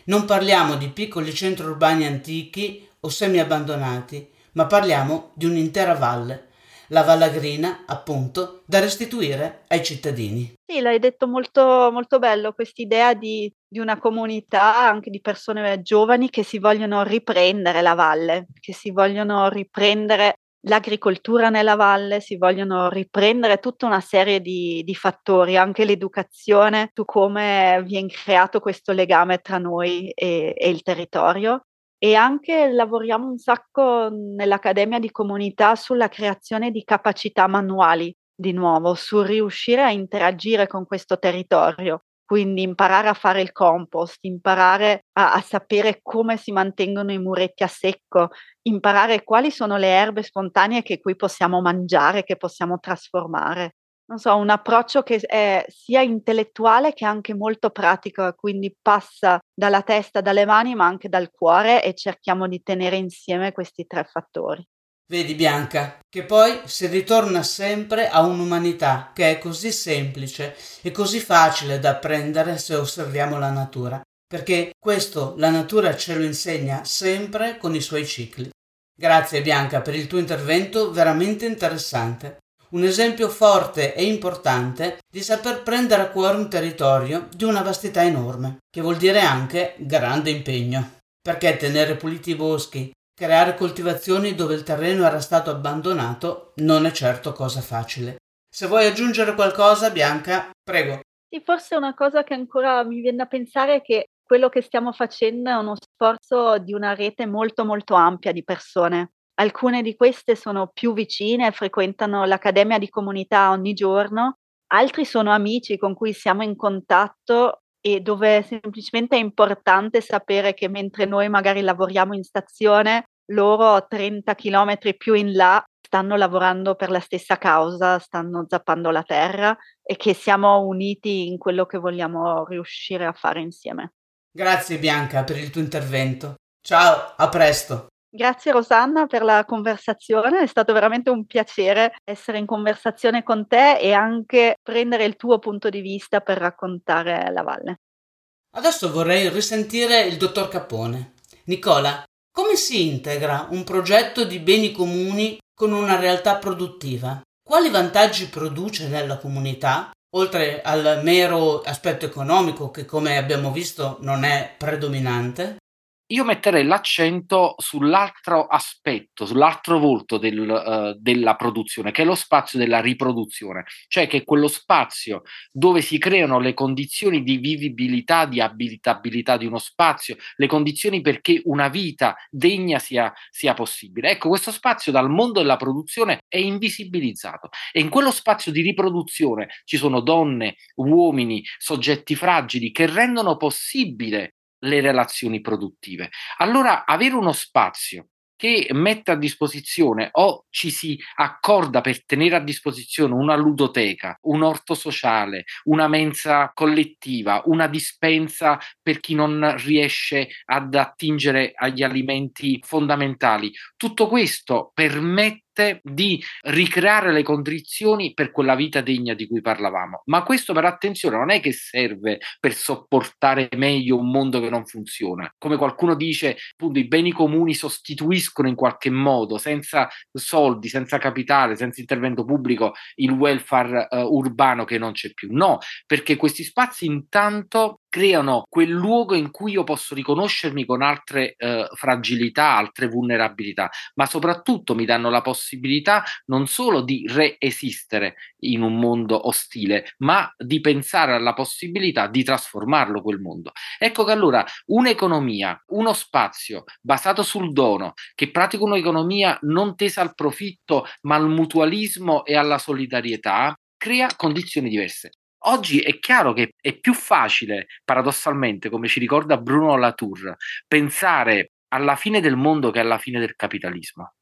Non parliamo di piccoli centri urbani antichi o semi-abbandonati, ma parliamo di un'intera valle, la Vallagrina, appunto, da restituire ai cittadini. Sì, l'hai detto molto, molto bello, quest'idea di, di una comunità, anche di persone giovani che si vogliono riprendere la valle, che si vogliono riprendere l'agricoltura nella valle, si vogliono riprendere tutta una serie di, di fattori, anche l'educazione su come viene creato questo legame tra noi e, e il territorio. E anche lavoriamo un sacco nell'Accademia di Comunità sulla creazione di capacità manuali, di nuovo, su riuscire a interagire con questo territorio, quindi imparare a fare il compost, imparare a, a sapere come si mantengono i muretti a secco, imparare quali sono le erbe spontanee che qui possiamo mangiare, che possiamo trasformare. Non so, un approccio che è sia intellettuale che anche molto pratico, quindi passa dalla testa, dalle mani, ma anche dal cuore, e cerchiamo di tenere insieme questi tre fattori. Vedi Bianca, che poi si ritorna sempre a un'umanità che è così semplice e così facile da apprendere se osserviamo la natura, perché questo la natura ce lo insegna sempre con i suoi cicli. Grazie Bianca per il tuo intervento veramente interessante. Un esempio forte e importante di saper prendere a cuore un territorio di una vastità enorme, che vuol dire anche grande impegno. Perché tenere puliti i boschi, creare coltivazioni dove il terreno era stato abbandonato non è certo cosa facile. Se vuoi aggiungere qualcosa, Bianca, prego. Sì, forse una cosa che ancora mi viene da pensare è che quello che stiamo facendo è uno sforzo di una rete molto molto ampia di persone. Alcune di queste sono più vicine, frequentano l'Accademia di Comunità ogni giorno, altri sono amici con cui siamo in contatto e dove semplicemente è importante sapere che mentre noi magari lavoriamo in stazione, loro trenta chilometri più in là stanno lavorando per la stessa causa, stanno zappando la terra, e che siamo uniti in quello che vogliamo riuscire a fare insieme. Grazie Bianca per il tuo intervento. Ciao, a presto. Grazie Rosanna per la conversazione, è stato veramente un piacere essere in conversazione con te e anche prendere il tuo punto di vista per raccontare la valle. Adesso vorrei risentire il dottor Capone. Nicola, come si integra un progetto di beni comuni con una realtà produttiva? Quali vantaggi produce nella comunità, oltre al mero aspetto economico che, come abbiamo visto, non è predominante? Io metterei l'accento sull'altro aspetto, sull'altro volto del, uh, della produzione, che è lo spazio della riproduzione, cioè che è quello spazio dove si creano le condizioni di vivibilità, di abitabilità di uno spazio, le condizioni perché una vita degna sia, sia possibile. Ecco, questo spazio dal mondo della produzione è invisibilizzato, e in quello spazio di riproduzione ci sono donne, uomini, soggetti fragili che rendono possibile le relazioni produttive. Allora, avere uno spazio che mette a disposizione o ci si accorda per tenere a disposizione una ludoteca, un orto sociale, una mensa collettiva, una dispensa per chi non riesce ad attingere agli alimenti fondamentali, tutto questo permette di ricreare le condizioni per quella vita degna di cui parlavamo. Ma questo, per attenzione, non è che serve per sopportare meglio un mondo che non funziona. Come qualcuno dice, appunto, i beni comuni sostituiscono in qualche modo, senza soldi, senza capitale, senza intervento pubblico, il welfare uh, urbano che non c'è più. No, perché questi spazi intanto creano quel luogo in cui io posso riconoscermi con altre eh, fragilità, altre vulnerabilità, ma soprattutto mi danno la possibilità non solo di reesistere in un mondo ostile, ma di pensare alla possibilità di trasformarlo quel mondo. Ecco che allora un'economia, uno spazio basato sul dono, che pratica un'economia non tesa al profitto, ma al mutualismo e alla solidarietà, crea condizioni diverse. Oggi è chiaro che è più facile, paradossalmente, come ci ricorda Bruno Latour, pensare alla fine del mondo che alla fine del capitalismo.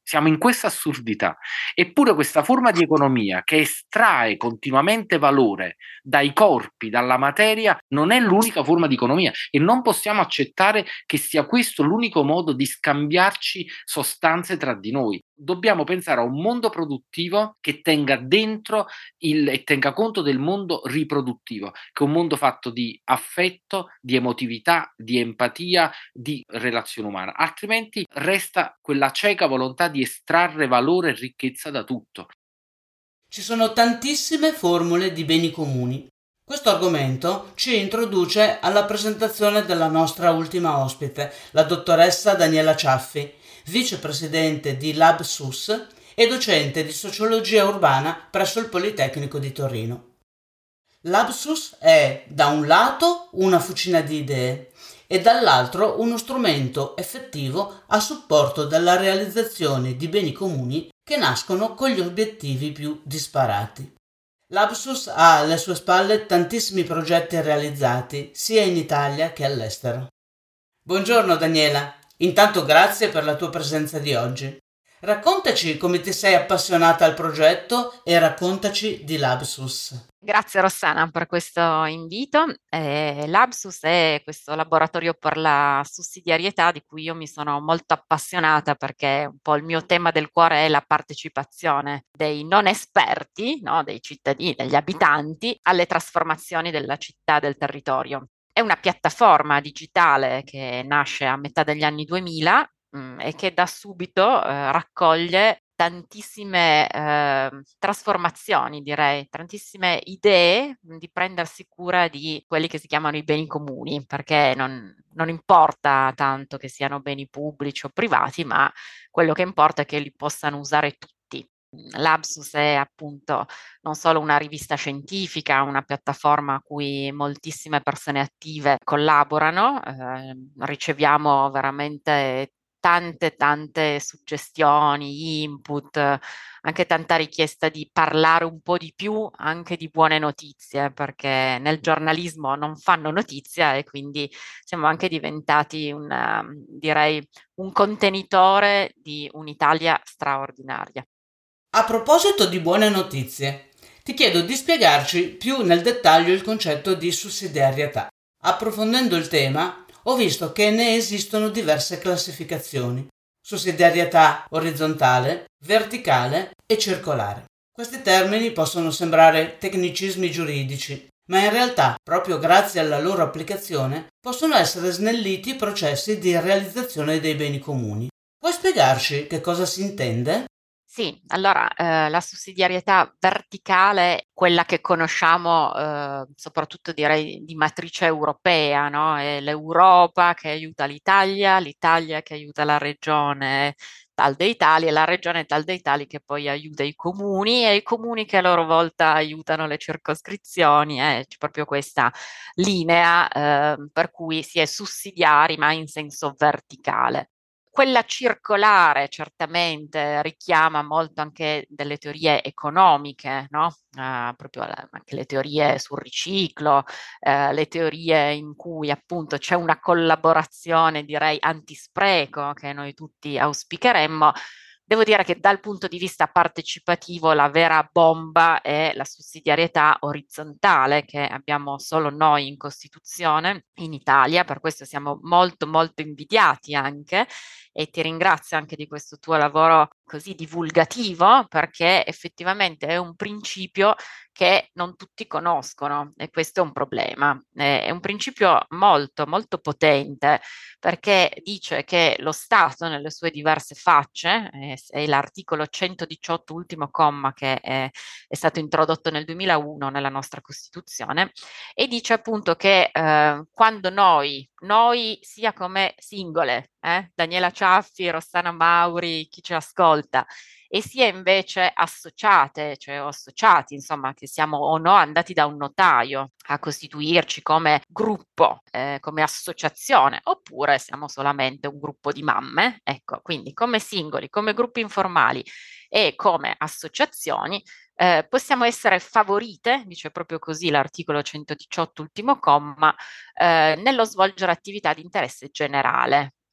Siamo in questa assurdità. Eppure questa forma di economia che estrae continuamente valore dai corpi, dalla materia, non è l'unica forma di economia e non possiamo accettare che sia questo l'unico modo di scambiarci sostanze tra di noi. Dobbiamo pensare a un mondo produttivo che tenga dentro il, e tenga conto del mondo riproduttivo, che è un mondo fatto di affetto, di emotività, di empatia, di relazione umana. Altrimenti resta quella cieca volontà di estrarre valore e ricchezza da tutto. Ci sono tantissime formule di beni comuni. Questo argomento ci introduce alla presentazione della nostra ultima ospite, la dottoressa Daniela Ciaffi, vicepresidente di LabSUS e docente di sociologia urbana presso il Politecnico di Torino. LabSUS è da un lato una fucina di idee e dall'altro uno strumento effettivo a supporto della realizzazione di beni comuni che nascono con gli obiettivi più disparati. LabSUS ha alle sue spalle tantissimi progetti realizzati sia in Italia che all'estero. Buongiorno Daniela, intanto grazie per la tua presenza di oggi. Raccontaci come ti sei appassionata al progetto e raccontaci di LabSUS. Grazie Rossana per questo invito. Eh, LabSUS è questo laboratorio per la sussidiarietà di cui io mi sono molto appassionata perché un po' il mio tema del cuore è la partecipazione dei non esperti, no, dei cittadini, degli abitanti alle trasformazioni della città, del territorio. È una piattaforma digitale che nasce a metà degli anni duemila mh, e che da subito eh, raccoglie tantissime eh, trasformazioni, direi, tantissime idee di prendersi cura di quelli che si chiamano i beni comuni, perché non, non importa tanto che siano beni pubblici o privati, ma quello che importa è che li possano usare tutti. LabSUS è appunto non solo una rivista scientifica, una piattaforma a cui moltissime persone attive collaborano, eh, riceviamo veramente tante tante suggestioni, input, anche tanta richiesta di parlare un po' di più anche di buone notizie, perché nel giornalismo non fanno notizia e quindi siamo anche diventati un, direi, un contenitore di un'Italia straordinaria. A proposito di buone notizie, ti chiedo di spiegarci più nel dettaglio il concetto di sussidiarietà. Approfondendo il tema, ho visto che ne esistono diverse classificazioni: sussidiarietà orizzontale, verticale e circolare. Questi termini possono sembrare tecnicismi giuridici, ma in realtà, proprio grazie alla loro applicazione, possono essere snelliti i processi di realizzazione dei beni comuni. Puoi spiegarci che cosa si intende? Sì, allora eh, la sussidiarietà verticale, quella che conosciamo eh, soprattutto direi di matrice europea, no? È l'Europa che aiuta l'Italia, l'Italia che aiuta la regione tal dei tali e la regione tal dei tali che poi aiuta i comuni e i comuni che a loro volta aiutano le circoscrizioni. Eh? C'è proprio questa linea eh, per cui si è sussidiari ma in senso verticale. Quella circolare certamente richiama molto anche delle teorie economiche, no? Uh, proprio la, anche le teorie sul riciclo, uh, le teorie in cui appunto c'è una collaborazione, direi, antispreco che noi tutti auspicheremmo. Devo dire che dal punto di vista partecipativo la vera bomba è la sussidiarietà orizzontale che abbiamo solo noi in Costituzione in Italia, per questo siamo molto molto invidiati anche e ti ringrazio anche di questo tuo lavoro così divulgativo perché effettivamente è un principio che non tutti conoscono e questo è un problema. È un principio molto molto potente perché dice che lo Stato nelle sue diverse facce, eh, è l'articolo centodiciotto ultimo comma che è, è stato introdotto nel duemilauno nella nostra Costituzione e dice appunto che eh, quando noi, noi sia come singole, eh, Daniela Ciaffi, Rossana Mauri, chi ci ascolta, e sia invece associate, cioè o associati, insomma, che siamo o no andati da un notaio a costituirci come gruppo, eh, come associazione, oppure siamo solamente un gruppo di mamme, ecco, quindi come singoli, come gruppi informali e come associazioni, eh, possiamo essere favorite, dice proprio così l'articolo centodiciotto ultimo comma, eh, nello svolgere attività di interesse generale.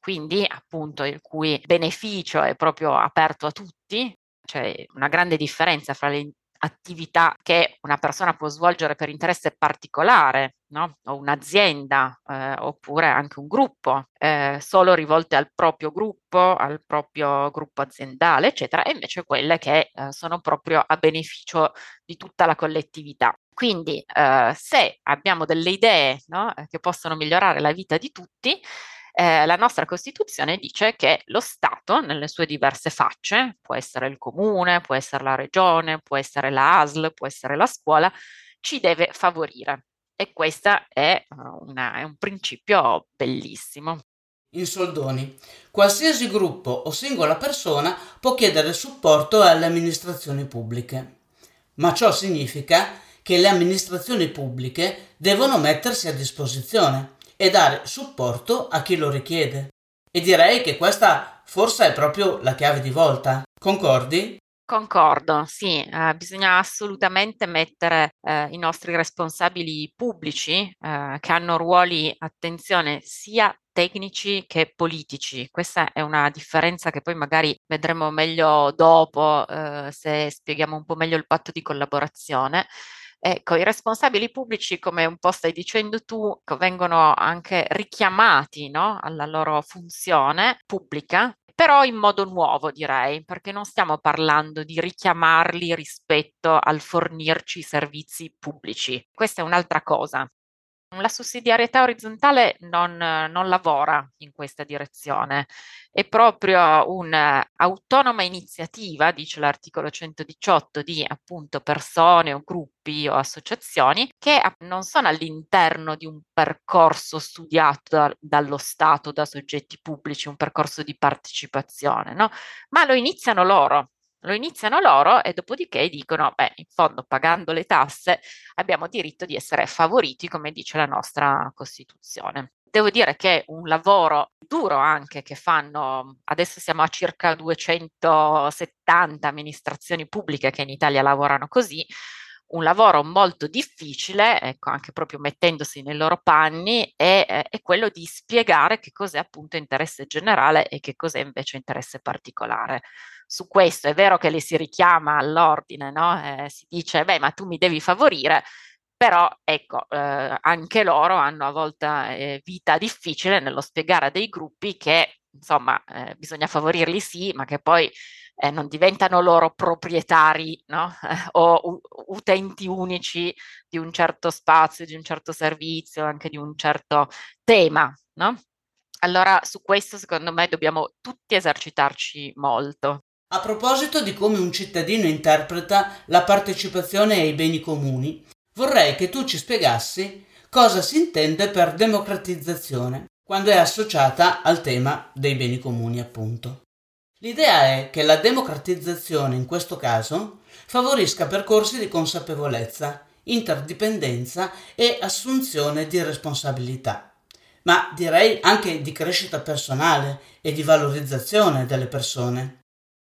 quindi appunto il cui beneficio è proprio aperto a tutti. C'è una grande differenza fra le attività che una persona può svolgere per interesse particolare, no? O un'azienda, eh, oppure anche un gruppo, eh, solo rivolte al proprio gruppo, al proprio gruppo aziendale, eccetera, e invece quelle che eh, sono proprio a beneficio di tutta la collettività. Quindi eh, se abbiamo delle idee, no, che possono migliorare la vita di tutti, eh, la nostra Costituzione dice che lo Stato, nelle sue diverse facce, può essere il comune, può essere la regione, può essere la A S L, può essere la scuola, ci deve favorire. E questo è, uh, una, è un principio bellissimo. In soldoni, qualsiasi gruppo o singola persona può chiedere supporto alle amministrazioni pubbliche, ma ciò significa che le amministrazioni pubbliche devono mettersi a disposizione e dare supporto a chi lo richiede. E direi che questa forse è proprio la chiave di volta. Concordi? Concordo, sì, eh, bisogna assolutamente mettere eh, i nostri responsabili pubblici eh, che hanno ruoli, attenzione, sia tecnici che politici. Questa è una differenza che poi magari vedremo meglio dopo, eh, se spieghiamo un po' meglio il patto di collaborazione. Ecco, i responsabili pubblici, come un po' stai dicendo tu, vengono anche richiamati, no, alla loro funzione pubblica, però in modo nuovo, direi, perché non stiamo parlando di richiamarli rispetto al fornirci servizi pubblici. Questa è un'altra cosa. La sussidiarietà orizzontale non, non lavora in questa direzione, è proprio un'autonoma iniziativa, dice l'articolo centodiciotto, di appunto persone o gruppi o associazioni che non sono all'interno di un percorso studiato da, dallo Stato, da soggetti pubblici, un percorso di partecipazione, no? Ma lo iniziano loro. Lo iniziano loro e dopodiché dicono, beh, in fondo pagando le tasse abbiamo diritto di essere favoriti, come dice la nostra Costituzione. Devo dire che è un lavoro duro anche che fanno, adesso siamo a circa duecentosettanta amministrazioni pubbliche che in Italia lavorano così, un lavoro molto difficile, ecco, anche proprio mettendosi nei loro panni, è, è quello di spiegare che cos'è appunto interesse generale e che cos'è invece interesse particolare. Su questo è vero che li si richiama all'ordine, no? Eh, si dice, beh, ma tu mi devi favorire, però ecco, eh, anche loro hanno a volte eh, vita difficile nello spiegare a dei gruppi che, insomma, eh, bisogna favorirli sì, ma che poi eh, non diventano loro proprietari, no? o u- utenti unici di un certo spazio, di un certo servizio, anche di un certo tema, no? Allora, su questo secondo me dobbiamo tutti esercitarci molto. A proposito di come un cittadino interpreta la partecipazione ai beni comuni, vorrei che tu ci spiegassi cosa si intende per democratizzazione quando è associata al tema dei beni comuni, appunto. L'idea è che la democratizzazione, in questo caso, favorisca percorsi di consapevolezza, interdipendenza e assunzione di responsabilità, ma direi anche di crescita personale e di valorizzazione delle persone.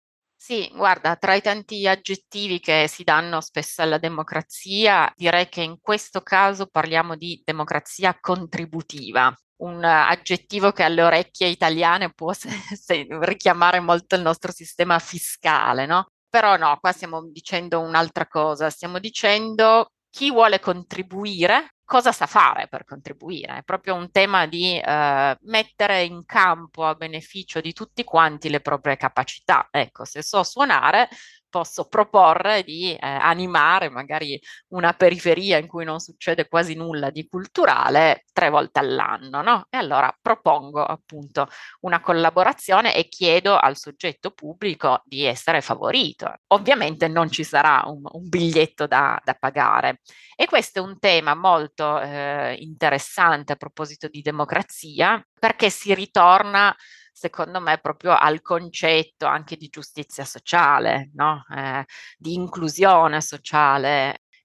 Sì, guarda, tra i tanti aggettivi che si danno spesso alla democrazia, direi che in questo caso parliamo di democrazia contributiva, un aggettivo che alle orecchie italiane può se- se- richiamare molto il nostro sistema fiscale, no? Però no, qua stiamo dicendo un'altra cosa, stiamo dicendo chi vuole contribuire, cosa sa fare per contribuire. È proprio un tema di eh, mettere in campo a beneficio di tutti quanti le proprie capacità. Ecco, se so suonare, posso proporre di eh, animare magari una periferia in cui non succede quasi nulla di culturale tre volte all'anno, no? E allora propongo appunto una collaborazione e chiedo al soggetto pubblico di essere favorito. Ovviamente non ci sarà un, un biglietto da, da pagare. E questo è un tema molto eh, interessante a proposito di democrazia, perché si ritorna, secondo me, proprio al concetto anche di giustizia sociale, no? Eh, di inclusione sociale.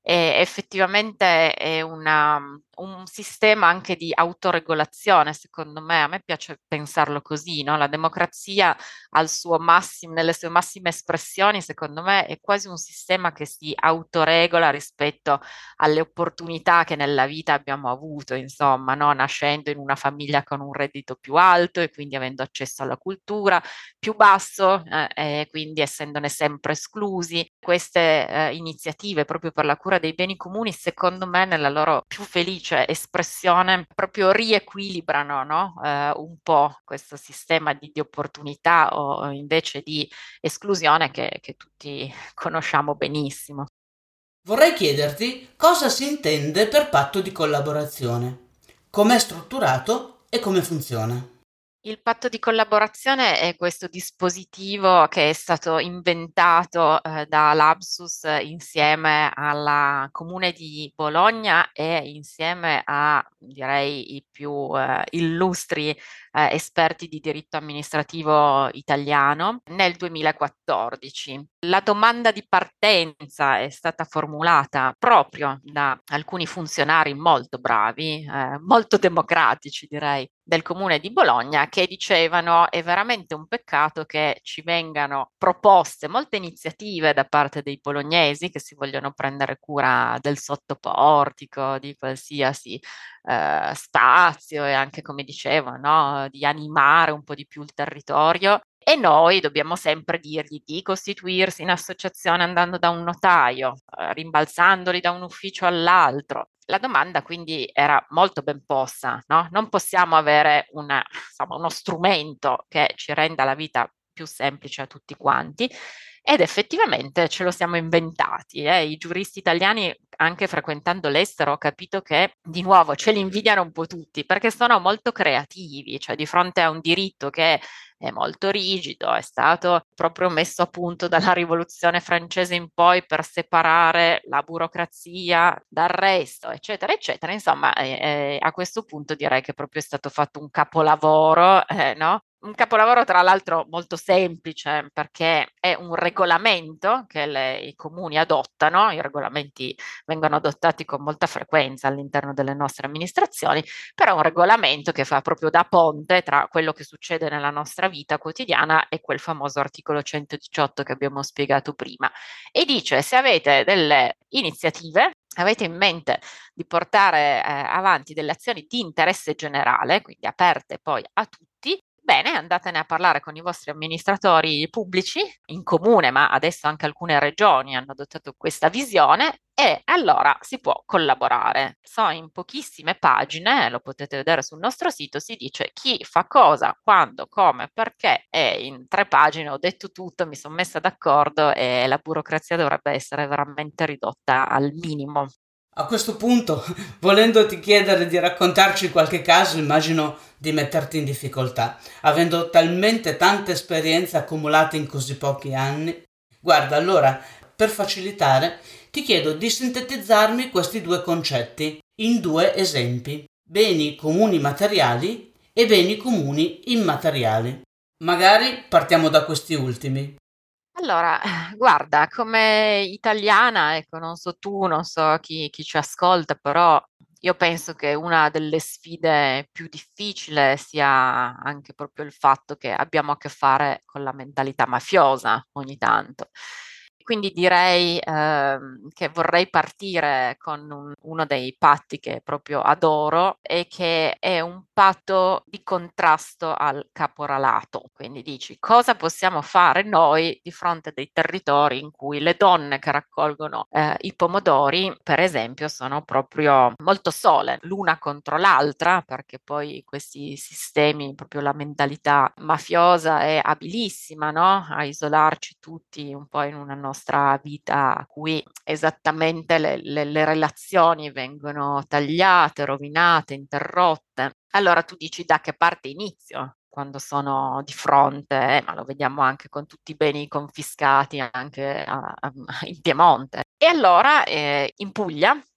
e effettivamente è una, un sistema anche di autoregolazione, secondo me. A me piace pensarlo così, no? La democrazia al suo massimo, nelle sue massime espressioni, secondo me, è quasi un sistema che si autoregola rispetto alle opportunità che nella vita abbiamo avuto, insomma, no? Nascendo in una famiglia con un reddito più alto e quindi avendo accesso alla cultura, più basso eh, e quindi essendone sempre esclusi. Queste eh, iniziative proprio per la cura dei beni comuni, secondo me, nella loro più felice espressione, proprio riequilibrano, no? eh, un po' questo sistema di, di opportunità o invece di esclusione che, che tutti conosciamo benissimo. Vorrei chiederti cosa si intende per patto di collaborazione, com'è strutturato e come funziona. Il patto di collaborazione è questo dispositivo che è stato inventato eh, da Labsus insieme alla Comune di Bologna e insieme a, direi, i più eh, illustri eh, esperti di diritto amministrativo italiano nel duemilaquattordici. La domanda di partenza è stata formulata proprio da alcuni funzionari molto bravi, eh, molto democratici, direi, del Comune di Bologna, che dicevano: è veramente un peccato che ci vengano proposte molte iniziative da parte dei bolognesi che si vogliono prendere cura del sottoportico, di qualsiasi eh, spazio e anche, come dicevo, no, di animare un po' di più il territorio. E noi dobbiamo sempre dirgli di costituirsi in associazione andando da un notaio, eh, rimbalzandoli da un ufficio all'altro. La domanda quindi era molto ben posta, no? Non possiamo avere una, insomma, uno strumento che ci renda la vita più semplice a tutti quanti, ed effettivamente ce lo siamo inventati. Eh. I giuristi italiani, anche frequentando l'estero, ho capito che di nuovo ce li invidiano un po' tutti perché sono molto creativi, cioè di fronte a un diritto che è molto rigido, è stato proprio messo a punto dalla rivoluzione francese in poi per separare la burocrazia dal resto, eccetera, eccetera. Insomma, eh, eh, a questo punto direi che proprio è stato fatto un capolavoro, eh, no? Un capolavoro tra l'altro molto semplice perché è un regolamento che le, i comuni adottano. I regolamenti vengono adottati con molta frequenza all'interno delle nostre amministrazioni, però è un regolamento che fa proprio da ponte tra quello che succede nella nostra vita quotidiana e quel famoso articolo centodiciotto che abbiamo spiegato prima, e dice: se avete delle iniziative, avete in mente di portare eh, avanti delle azioni di interesse generale, quindi aperte poi a tutti, bene, andatene a parlare con i vostri amministratori pubblici in comune, ma adesso anche alcune regioni hanno adottato questa visione, e allora si può collaborare. So, in pochissime pagine, lo potete vedere sul nostro sito, si dice chi fa cosa, quando, come, perché, e in tre pagine ho detto tutto, mi sono messa d'accordo e la burocrazia dovrebbe essere veramente ridotta al minimo. A questo punto, volendoti chiedere di raccontarci qualche caso, immagino di metterti in difficoltà, avendo talmente tanta esperienza accumulata in così pochi anni. Guarda, allora, per facilitare, ti chiedo di sintetizzarmi questi due concetti in due esempi: beni comuni materiali e beni comuni immateriali. Magari partiamo da questi ultimi. Allora, guarda, come italiana, ecco, non so tu, non so chi, chi ci ascolta, però io penso che una delle sfide più difficili sia anche proprio il fatto che abbiamo a che fare con la mentalità mafiosa ogni tanto. Quindi direi ehm, che vorrei partire con un- uno dei patti che proprio adoro e che è un patto di contrasto al caporalato. Quindi dici: cosa possiamo fare noi di fronte a dei territori in cui le donne che raccolgono eh, i pomodori, per esempio, sono proprio molto sole l'una contro l'altra, perché poi questi sistemi, proprio la mentalità mafiosa è abilissima, no? A isolarci tutti un po' in una nostra vita a cui esattamente le, le, le relazioni vengono tagliate, rovinate, interrotte. Allora tu dici: da che parte inizio? Quando sono di fronte, eh, ma lo vediamo anche con tutti i beni confiscati anche a, a, in Piemonte. E allora eh, in Puglia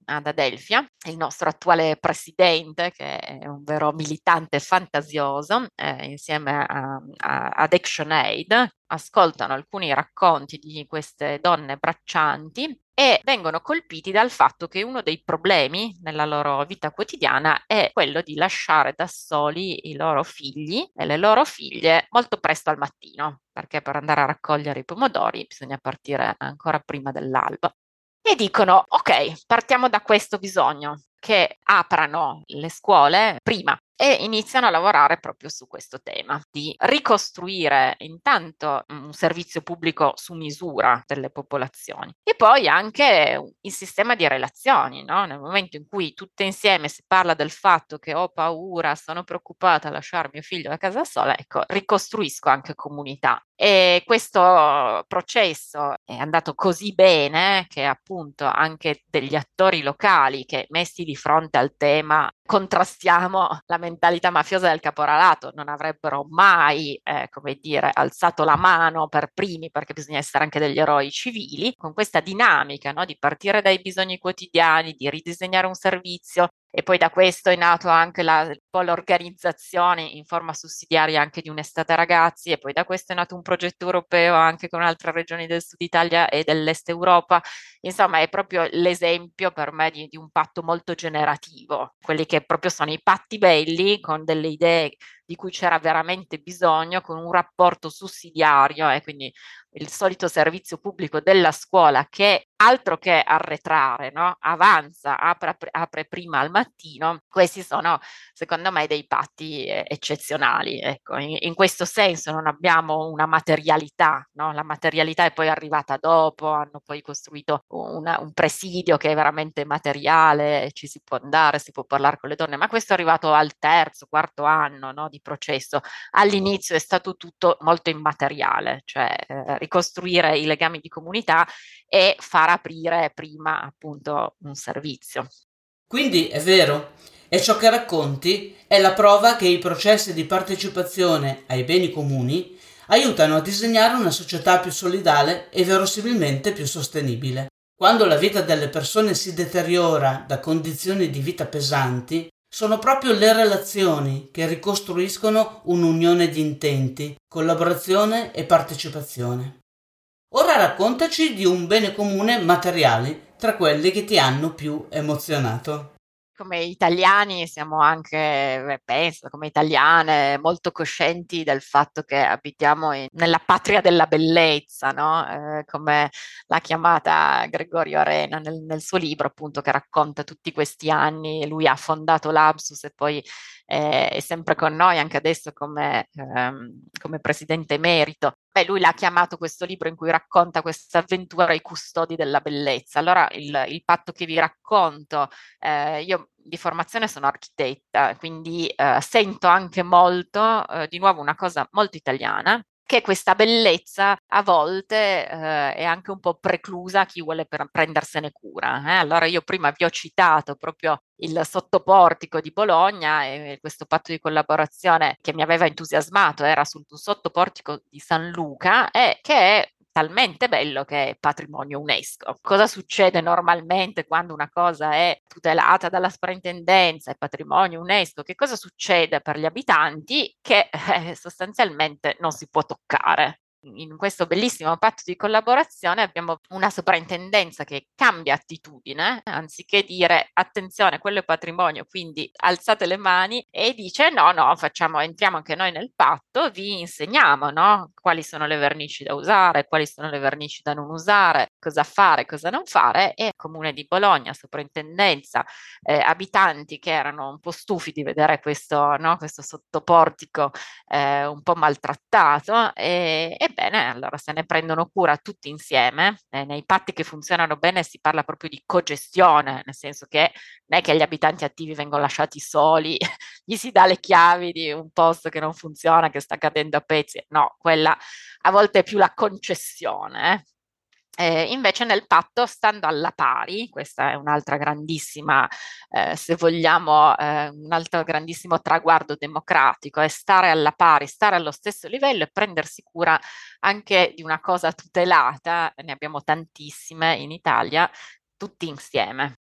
ad Adelphia, il nostro attuale presidente, che è un vero militante fantasioso, eh, insieme a, a, ad ActionAid, ascoltano alcuni racconti di queste donne braccianti e vengono colpiti dal fatto che uno dei problemi nella loro vita quotidiana è quello di lasciare da soli i loro figli e le loro figlie molto presto al mattino, perché per andare a raccogliere i pomodori bisogna partire ancora prima dell'alba. E dicono, ok, partiamo da questo bisogno, che aprano le scuole prima e iniziano a lavorare proprio su questo tema, di ricostruire intanto un servizio pubblico su misura delle popolazioni e poi anche il sistema di relazioni, no? Nel momento in cui tutte insieme si parla del fatto che ho paura, sono preoccupata a lasciare mio figlio a casa sola, ecco, ricostruisco anche comunità. E questo processo è andato così bene che appunto anche degli attori locali che messi di fronte al tema contrastiamo la mentalità mafiosa del caporalato non avrebbero mai, eh, come dire, alzato la mano per primi, perché bisogna essere anche degli eroi civili, con questa dinamica, no, di partire dai bisogni quotidiani, di ridisegnare un servizio. E poi da questo è nato anche la, un po' l'organizzazione in forma sussidiaria anche di un'estate ragazzi, e poi da questo è nato un progetto europeo anche con altre regioni del sud Italia e dell'est Europa. Insomma, è proprio l'esempio per me di, di un patto molto generativo, quelli che proprio sono i patti belli con delle idee di cui c'era veramente bisogno, con un rapporto sussidiario e quindi il solito servizio pubblico della scuola che altro che arretrare, no? Avanza, apre, apre prima al mattino. Questi sono secondo me dei patti eh, eccezionali. Ecco, in, in questo senso non abbiamo una materialità, no? La materialità è poi arrivata dopo, hanno poi costruito una, un presidio che è veramente materiale, ci si può andare, si può parlare con le donne, ma questo è arrivato al terzo, quarto anno, no, di processo. All'inizio è stato tutto molto immateriale, cioè eh, ricostruire i legami di comunità e far aprire prima appunto un servizio. Quindi è vero, e ciò che racconti è la prova che i processi di partecipazione ai beni comuni aiutano a disegnare una società più solidale e verosimilmente più sostenibile. Quando la vita delle persone si deteriora da condizioni di vita pesanti, sono proprio le relazioni che ricostruiscono un'unione di intenti, collaborazione e partecipazione. Ora raccontaci di un bene comune materiale tra quelli che ti hanno più emozionato. Come italiani siamo anche, penso, come italiane, molto coscienti del fatto che abitiamo in, nella patria della bellezza, no? Eh, come l'ha chiamata Gregorio Arena nel, nel suo libro, appunto, che racconta tutti questi anni. Lui ha fondato l'Absus e poi eh, è sempre con noi, anche adesso come, ehm, come presidente emerito. Beh, lui l'ha chiamato questo libro in cui racconta questa avventura ai custodi della bellezza. Allora, il, il patto che vi racconto, eh, io di formazione sono architetta, quindi eh, sento anche molto, eh, di nuovo, una cosa molto italiana, che questa bellezza a volte eh, è anche un po' preclusa a chi vuole per prendersene cura. Eh? Allora io prima vi ho citato proprio il sottoportico di Bologna e questo patto di collaborazione che mi aveva entusiasmato era sul sottoportico di San Luca e che è talmente bello che è patrimonio UNESCO. Cosa succede normalmente quando una cosa è tutelata dalla sovrintendenza, è patrimonio UNESCO? Che cosa succede per gli abitanti? Che eh, sostanzialmente non si può toccare. In questo bellissimo patto di collaborazione abbiamo una soprintendenza che cambia attitudine, anziché dire attenzione, quello è patrimonio, quindi alzate le mani, e dice no, no, facciamo, entriamo anche noi nel patto, vi insegniamo, no? Quali sono le vernici da usare, quali sono le vernici da non usare, cosa fare, cosa non fare, e Comune di Bologna, soprintendenza, eh, abitanti che erano un po' stufi di vedere questo, no? Questo sottoportico eh, un po' maltrattato e, e Ebbene, allora se ne prendono cura tutti insieme. Eh, nei patti che funzionano bene si parla proprio di cogestione, nel senso che non è che gli abitanti attivi vengono lasciati soli, gli si dà le chiavi di un posto che non funziona, che sta cadendo a pezzi. No, quella a volte è più la concessione. Eh. Eh, invece nel patto, stando alla pari, questa è un'altra grandissima, eh, se vogliamo, eh, un altro grandissimo traguardo democratico, è stare alla pari, stare allo stesso livello e prendersi cura anche di una cosa tutelata, ne abbiamo tantissime in Italia, tutti insieme.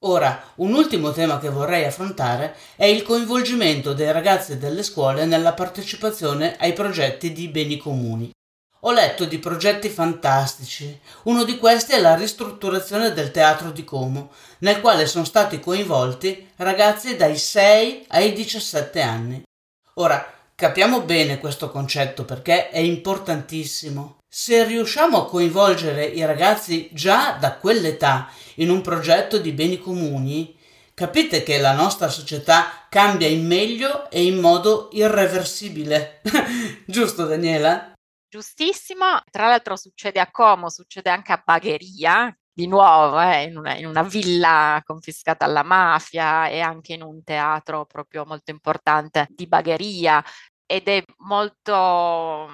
Ora, un ultimo tema che vorrei affrontare è il coinvolgimento dei ragazzi delle scuole nella partecipazione ai progetti di beni comuni. Ho letto di progetti fantastici. Uno di questi è la ristrutturazione del teatro di Como, nel quale sono stati coinvolti ragazzi dai sei ai diciassette anni. Ora, capiamo bene questo concetto perché è importantissimo. Se riusciamo a coinvolgere i ragazzi già da quell'età in un progetto di beni comuni, capite che la nostra società cambia in meglio e in modo irreversibile. Giusto, Daniela? Giustissimo. Tra l'altro succede a Como, succede anche a Bagheria, di nuovo, eh, in una, in una villa confiscata alla mafia e anche in un teatro proprio molto importante di Bagheria. Ed è molto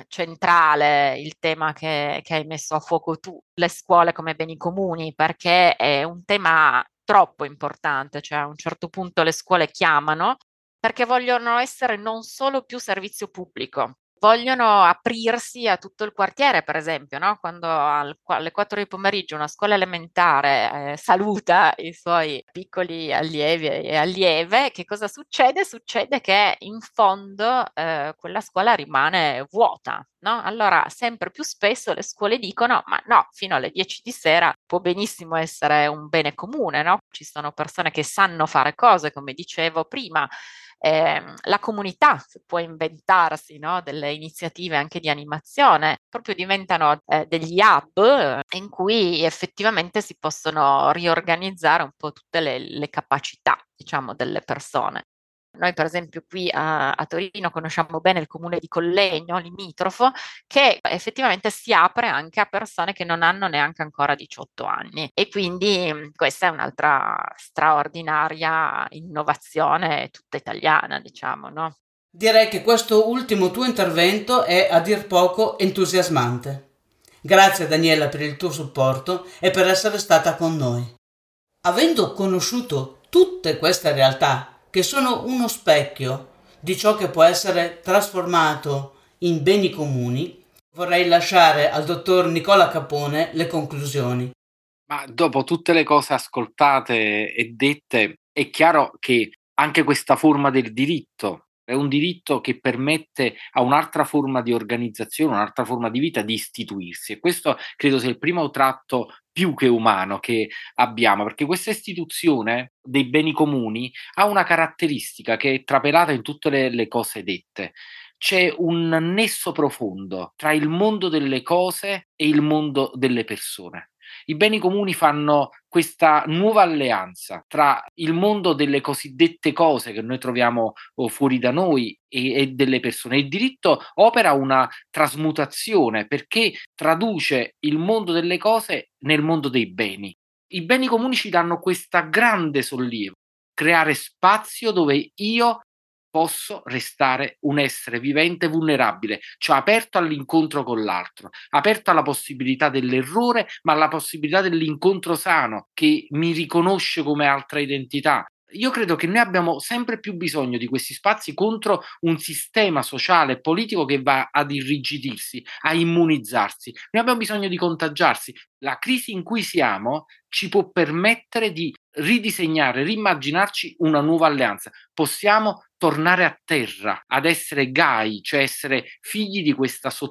centrale il tema che, che hai messo a fuoco tu, le scuole come beni comuni, perché è un tema troppo importante, cioè a un certo punto le scuole chiamano perché vogliono essere non solo più servizio pubblico, vogliono aprirsi a tutto il quartiere, per esempio, no? Quando al, alle quattro di pomeriggio una scuola elementare eh, saluta i suoi piccoli allievi e allieve, che cosa succede? Succede che in fondo eh, quella scuola rimane vuota, no? Allora sempre più spesso le scuole dicono ma no, fino alle dieci di sera può benissimo essere un bene comune, no? Ci sono persone che sanno fare cose, come dicevo prima. Eh, la comunità può inventarsi, no, delle iniziative anche di animazione, proprio diventano eh, degli hub in cui effettivamente si possono riorganizzare un po' tutte le, le capacità, diciamo, delle persone. Noi per esempio qui a, a Torino conosciamo bene il comune di Collegno, limitrofo, che effettivamente si apre anche a persone che non hanno neanche ancora diciotto anni e quindi questa è un'altra straordinaria innovazione tutta italiana, diciamo, no? Direi che questo ultimo tuo intervento è a dir poco entusiasmante. Grazie Daniela per il tuo supporto e per essere stata con noi. Avendo conosciuto tutte queste realtà che sono uno specchio di ciò che può essere trasformato in beni comuni, vorrei lasciare al dottor Nicola Capone le conclusioni. Ma dopo tutte le cose ascoltate e dette, è chiaro che anche questa forma del diritto è un diritto che permette a un'altra forma di organizzazione, un'altra forma di vita di istituirsi, e questo credo sia il primo tratto più che umano che abbiamo, perché questa istituzione dei beni comuni ha una caratteristica che è trapelata in tutte le, le cose dette. C'è un nesso profondo tra il mondo delle cose e il mondo delle persone. I beni comuni fanno questa nuova alleanza tra il mondo delle cosiddette cose che noi troviamo oh, fuori da noi e, e delle persone. Il diritto opera una trasmutazione perché traduce il mondo delle cose nel mondo dei beni. I beni comuni ci danno questa grande sollievo, creare spazio dove io posso restare un essere vivente vulnerabile, cioè aperto all'incontro con l'altro, aperto alla possibilità dell'errore, ma alla possibilità dell'incontro sano che mi riconosce come altra identità. Io credo che noi abbiamo sempre più bisogno di questi spazi contro un sistema sociale e politico che va ad irrigidirsi, a immunizzarsi. Noi abbiamo bisogno di contagiarsi. La crisi in cui siamo ci può permettere di ridisegnare, rimmaginarci una nuova alleanza. Possiamo tornare a terra, ad essere gai, cioè essere figli di questa sottile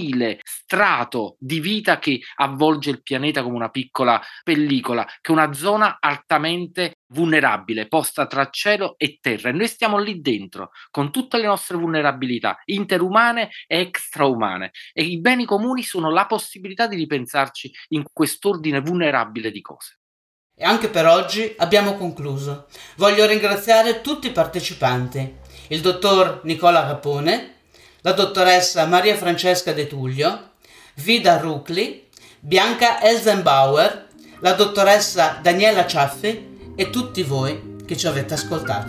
strato di vita che avvolge il pianeta come una piccola pellicola, che è una zona altamente vulnerabile, posta tra cielo e terra, e noi stiamo lì dentro con tutte le nostre vulnerabilità interumane e extraumane, e i beni comuni sono la possibilità di ripensarci in quest'ordine vulnerabile di cose. E anche per oggi abbiamo concluso. Voglio ringraziare tutti i partecipanti, il dottor Nicola Capone, la dottoressa Maria Francesca De Tullio, Vida Rucli, Bianca Elsenbauer, la dottoressa Daniela Ciaffi e tutti voi che ci avete ascoltato.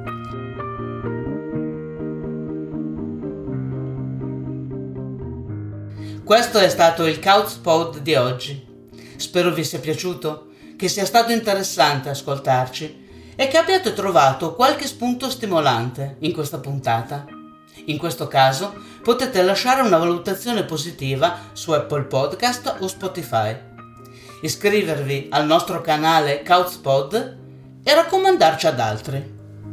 Questo è stato il Couchpod di oggi. Spero vi sia piaciuto, che sia stato interessante ascoltarci e che abbiate trovato qualche spunto stimolante in questa puntata. In questo caso potete lasciare una valutazione positiva su Apple Podcast o Spotify. iscrivervi al nostro canale Couchpod e raccomandarci ad altri.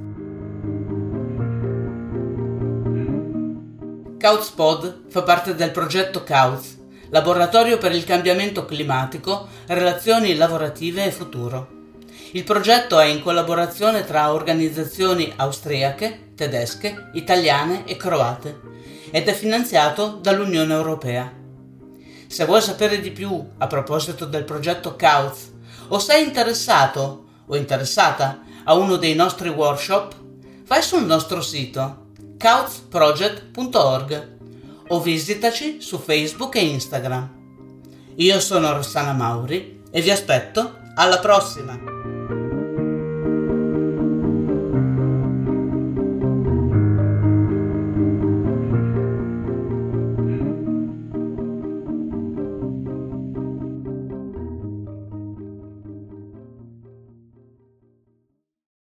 Couchpod fa parte del progetto Couch, Laboratorio per il cambiamento climatico, relazioni lavorative e futuro. Il progetto è in collaborazione tra organizzazioni austriache, tedesche, italiane e croate ed è finanziato dall'Unione Europea. Se vuoi sapere di più a proposito del progetto Couch o sei interessato o interessata a uno dei nostri workshop, vai sul nostro sito couch project punto org o visitaci su Facebook e Instagram. Io sono Rossana Mauri e vi aspetto alla prossima!